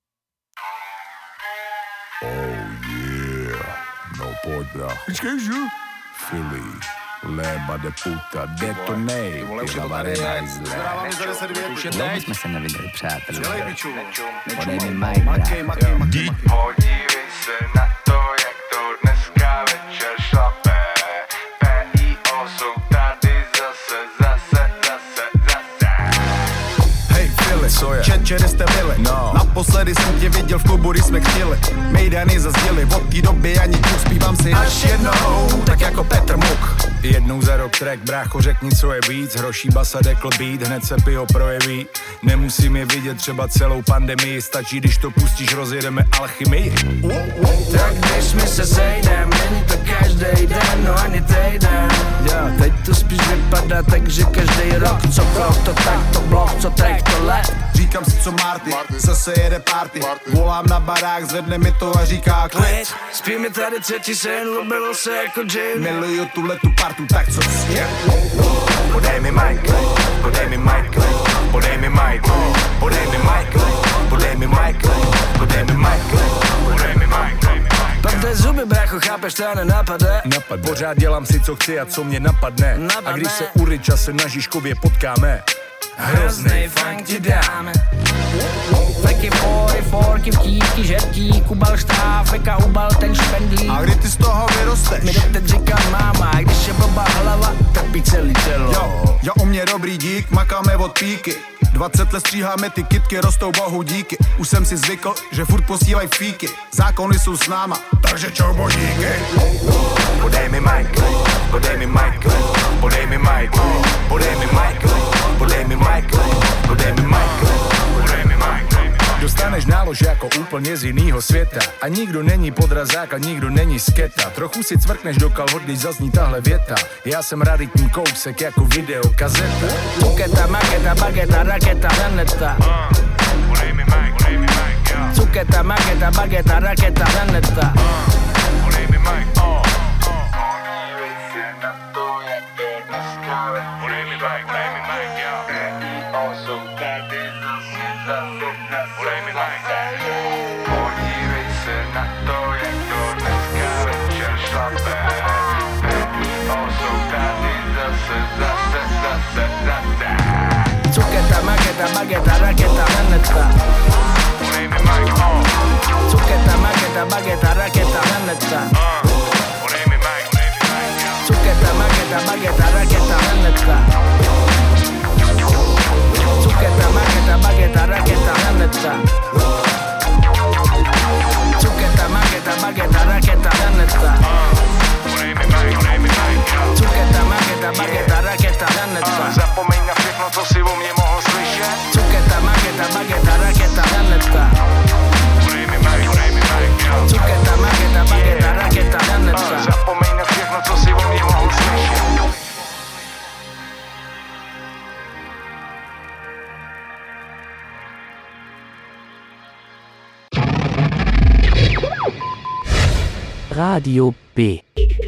Oh yeah, no pojď brácho. Philly, léba de puta, detonej, Jihlavá renájzle. Dlouho jsme se neviděli, přátelé. Podej mi mic, brácho. Podívej se na to, jak to dneska večer šlape. PIO jsou tady zase. Hej Philly, co je? Čet, jste byli. No. Naposledy jsem tě viděl v klubu, když jsme chtěli. Mejdany zazděli, od té doby ani tu zpívám si až jednou, tak jako Petr Muk. Jednou za rok track, brácho, řekni, co je víc. Hroší basa, dekl beat, hned se Pio projeví. Nemusím je vidět třeba celou pandemii, stačí, když to pustíš, rozjedeme alchymii. Tak když mi se sejdem, není to každý den, no ani týden. Jo, teď to spíš vypadá tak, že každý rok, co krok, to tak, to blok, co track, to let. Říkám si, co Marty, zase jede party. Volám na barák, zvedne mi to a říká klid. Spí mi tady třetí syn, lubilo se jako džin. Miluju tuhletu partu, tak co si? Podej mi mic, podej mi mic, podej mi mic, podej mi mic, podej mi mic, podej mi mic, podej mi mic. Pevné zuby, brácho, chápeš, to nenapade. Pořád dělám si, co chci a co mě napadne. A když se u Richa se na Žižkově potkáme, hroznej funk ti dáme. Feky, pory, forky, vtíky, žertí, kubal štáv, feka, ubal ten špendlík. A kdy ty z toho vyrosteš? Mi doteď říkám máma, a když je blbá hlava, trpí celý tělo. Jo, u mě dobrý dík, makáme od píky. 20 let stříháme ty kytky, rostou bohu díky. Už jsem si zvykl, že furt posílaj fíky. Zákony jsou s náma, takže čau božíky. Podej mi mic, podej mi mic, podej mi mic, podej mi mic, podej mi mic, podej mi mic. Dostaneš nálož jako úplně z jinýho světa. A nikdo není podrazák a nikdo není sketa. Trochu si cvrkneš do kalhot, když zazní tahle věta. Já jsem raritní kousek jako videokazeta. Cuketa, maketa, bageta, raketa, hnedta. Podej mi mic, podej mi mic, jo. Cuketa, maketa, bageta, raketa, hnedta. Podej mi mic, Podívej se na to, jak je dneska. Podej mi mic, jo. Jsou tady zase. Podej mi mic. Podívej se na to, jak to dneska večer šlape. Jsou tady zase. Cuketa, maketa, bageta, raketa, hnedta. Podej mi mic, Cuketa, maketa, bageta, raketa, hnedta. Podej mi mic, jo. Cuketa, maketa, bageta, raketa, hnedta. Cuketa, maketa, bageta, raketa, hnedta. Cuketa, maketa, bageta, raketa, hnedta. Podej mi mic, jo. Cuketa, maketa, bageta, raketa, hnedta. Zapomeň na všechno, co si o mě mohl slyšet. Cuketa, maketa, bageta, raketa, hnedta. Podej mi mic, jo. Cuketa, maketa, bageta, raketa, hnedta. Zapomeň na všechno, co si o mě mohl slyšet. Radio B.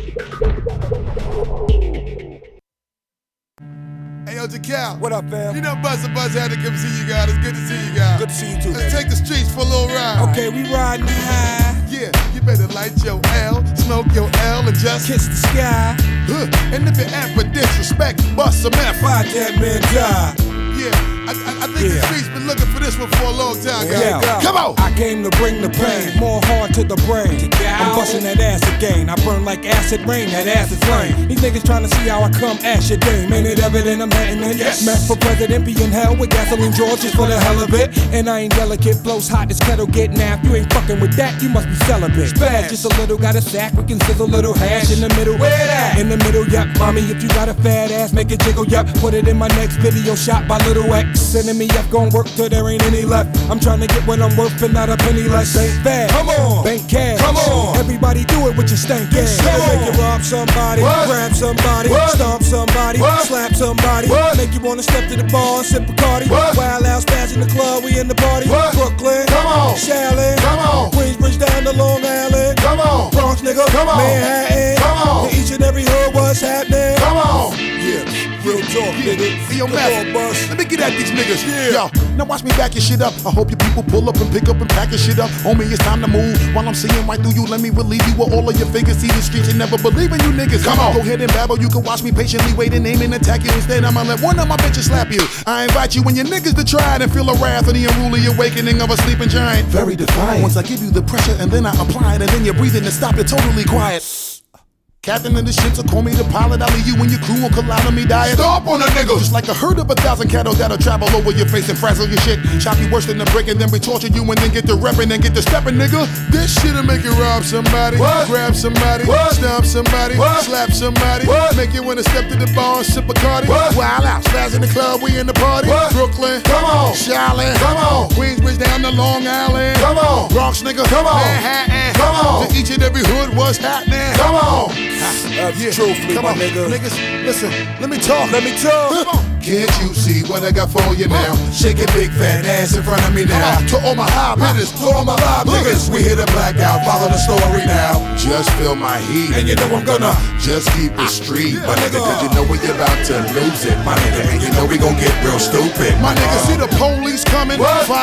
Hey, yo, Jacal. What up, fam? You know Buzz had to come see you guys. It's good to see you guys. Good to see you too, Let's take the streets for a little ride. Okay, we riding high. Yeah, you better light your L, smoke your L, and just kiss the sky. And if you're at for disrespect, bust some F. Why that man die? Yeah, I think the streets been looking for this one for a long time, guys. Yeah. Come on! I came to bring the pain, more hard to the brain. I'm busting that ass again. I burn like acid rain, that acid flame. These niggas trying to see how I come ash your dame. Ain't it evident I'm heading in? Yes. Meant for president, be in hell with gasoline George just for the hell of it. And I ain't delicate, blows hot, this kettle get napped. You ain't fucking with that, you must be celibate. Spaz, just a little, got a sack, we can sizzle a little hash in the middle. Where that? In the middle, yep. Mommy, if you got a fat ass, make it jiggle, yep. Put it in my next video shot by Little X. Sending me up, gon' work till there ain't any left. I'm trying to get what I'm worth and not a penny less. Ain't bad. Come on. Bank cash. Come on. Everybody do it with your stank ass. Make you rob somebody, What? grab somebody, What? stomp somebody, What? slap somebody. What? Make you wanna step to the bar and sip Bacardi. What? Wild out spaz in the club, we in the party. What? Brooklyn, Come on. Shaolin, Come on. Queensbridge down to Long Island. Come on. Bronx nigga, Come on. Manhattan. Come on. To each and every hood, what's happening? Come on! Yeah, real talk, nigga. See your Come mess. on, boss. Let me get at these niggas. Yeah. Yo, now watch me back your shit up. I hope your people pull up and pick up and pack your shit up. Homie, it's time to move. While I'm seeing right through you, let me relieve you with all of your figures. See the streets and never believe in you niggas. Come on. Go ahead and babble. You can watch me patiently wait and aim and attack you. Instead, I'ma let one of my bitches slap you. I invite you and your niggas to try it and feel the wrath of the unruly awakening of a sleeping giant. Very defiant. Once I give you the pressure and then I apply it and then you're breathing and stop it totally quiet. Captain of the ship, so call me the pilot. I'll leave you and your crew will collide on me diet. Stop on the niggas! Just like a herd of 1,000 cattle that'll travel over your face and frazzle your shit. Chop you worse than a brick and then we torture you and then get to reppin' and get to steppin', nigga. This shit'll make you rob somebody, What? grab somebody, What? stomp somebody, What? slap somebody, What? make you wanna step to the bar and sip a Cardi. What? Wild out, spaz in the club, we in the party. What? Brooklyn, Come on. Shaolin, Come on. Queensbridge down to Long Island. Come on. Bronx, nigga, Come on. Manhattan, Come on. to each and every hood, what's happening? Come on. Yeah, truthfully, Come my on, nigga. niggas, listen, let me talk. Let me talk. Come on. Can't you see what I got for you now? Shake your big fat ass in front of me now. To all my high hitters, to all my live niggas, we hit a blackout, follow the story now. Just feel my heat, and you know I'm gonna just keep it street, my nigga, cause you know we about to lose it, my nigga, and you know we gon' get real stupid. My nigga, see the police coming, fireman coming.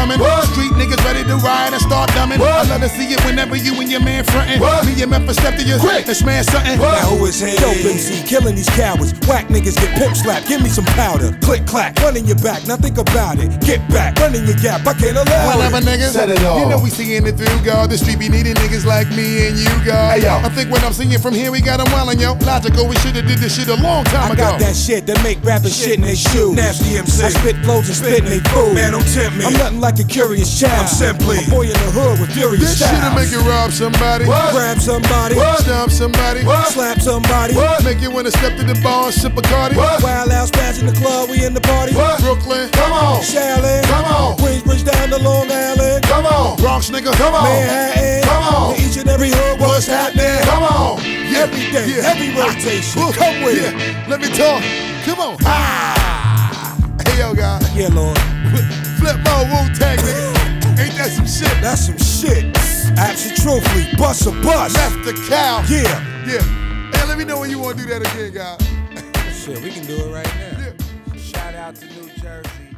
coming. Street niggas ready to ride and start dumbing. I love to see it whenever you and your man frontin'. Me and Memphis step to you and smash something. Now who is he? Dope MC, killing these cowards. Whack niggas get pimp slapped. Give me some powder. Click clack, running your back. Now think about it. Get back, running your gap. I can't allow Whatever it. niggas, Set it off. you know we seeing it through, God. The street be needing niggas like me and you, God. Hey, yo. I think when I'm seeing from here, we got them wildin', yo. Logical, we shoulda did this shit a long time I ago. got that shit that make rappers shit in they shoes. Nasty MC. I spit flows and spit in they food. Man, don't tempt me. I'm nothing like a curious child. I'm simply a boy in the hood with furious This styles. shit'll make you rob somebody, Grab somebody, stomp somebody, slap somebody, make you wanna step to the bar and sip a Cardi. Wild out spaz in the club, we in the party. Brooklyn, come on. Shaolin, come on. Queensbridge down to Long Island, come on. Bronx nigga, come on. Manhattan, come on. Each and every hood, what's happening? Come on. Every day, heavy rotation. Come with it. Let me talk. Come on. Hey yo, guys. Yeah, Lord. Flip mode, Wu-Tang, nigga. Ain't that some shit? That's some shit. Absolutely, bust a bus. Left the cow. Yeah. Yeah. Hey, let me know when you want to do that again, guys. Shit, we can do it right now. Shout out to New Jersey.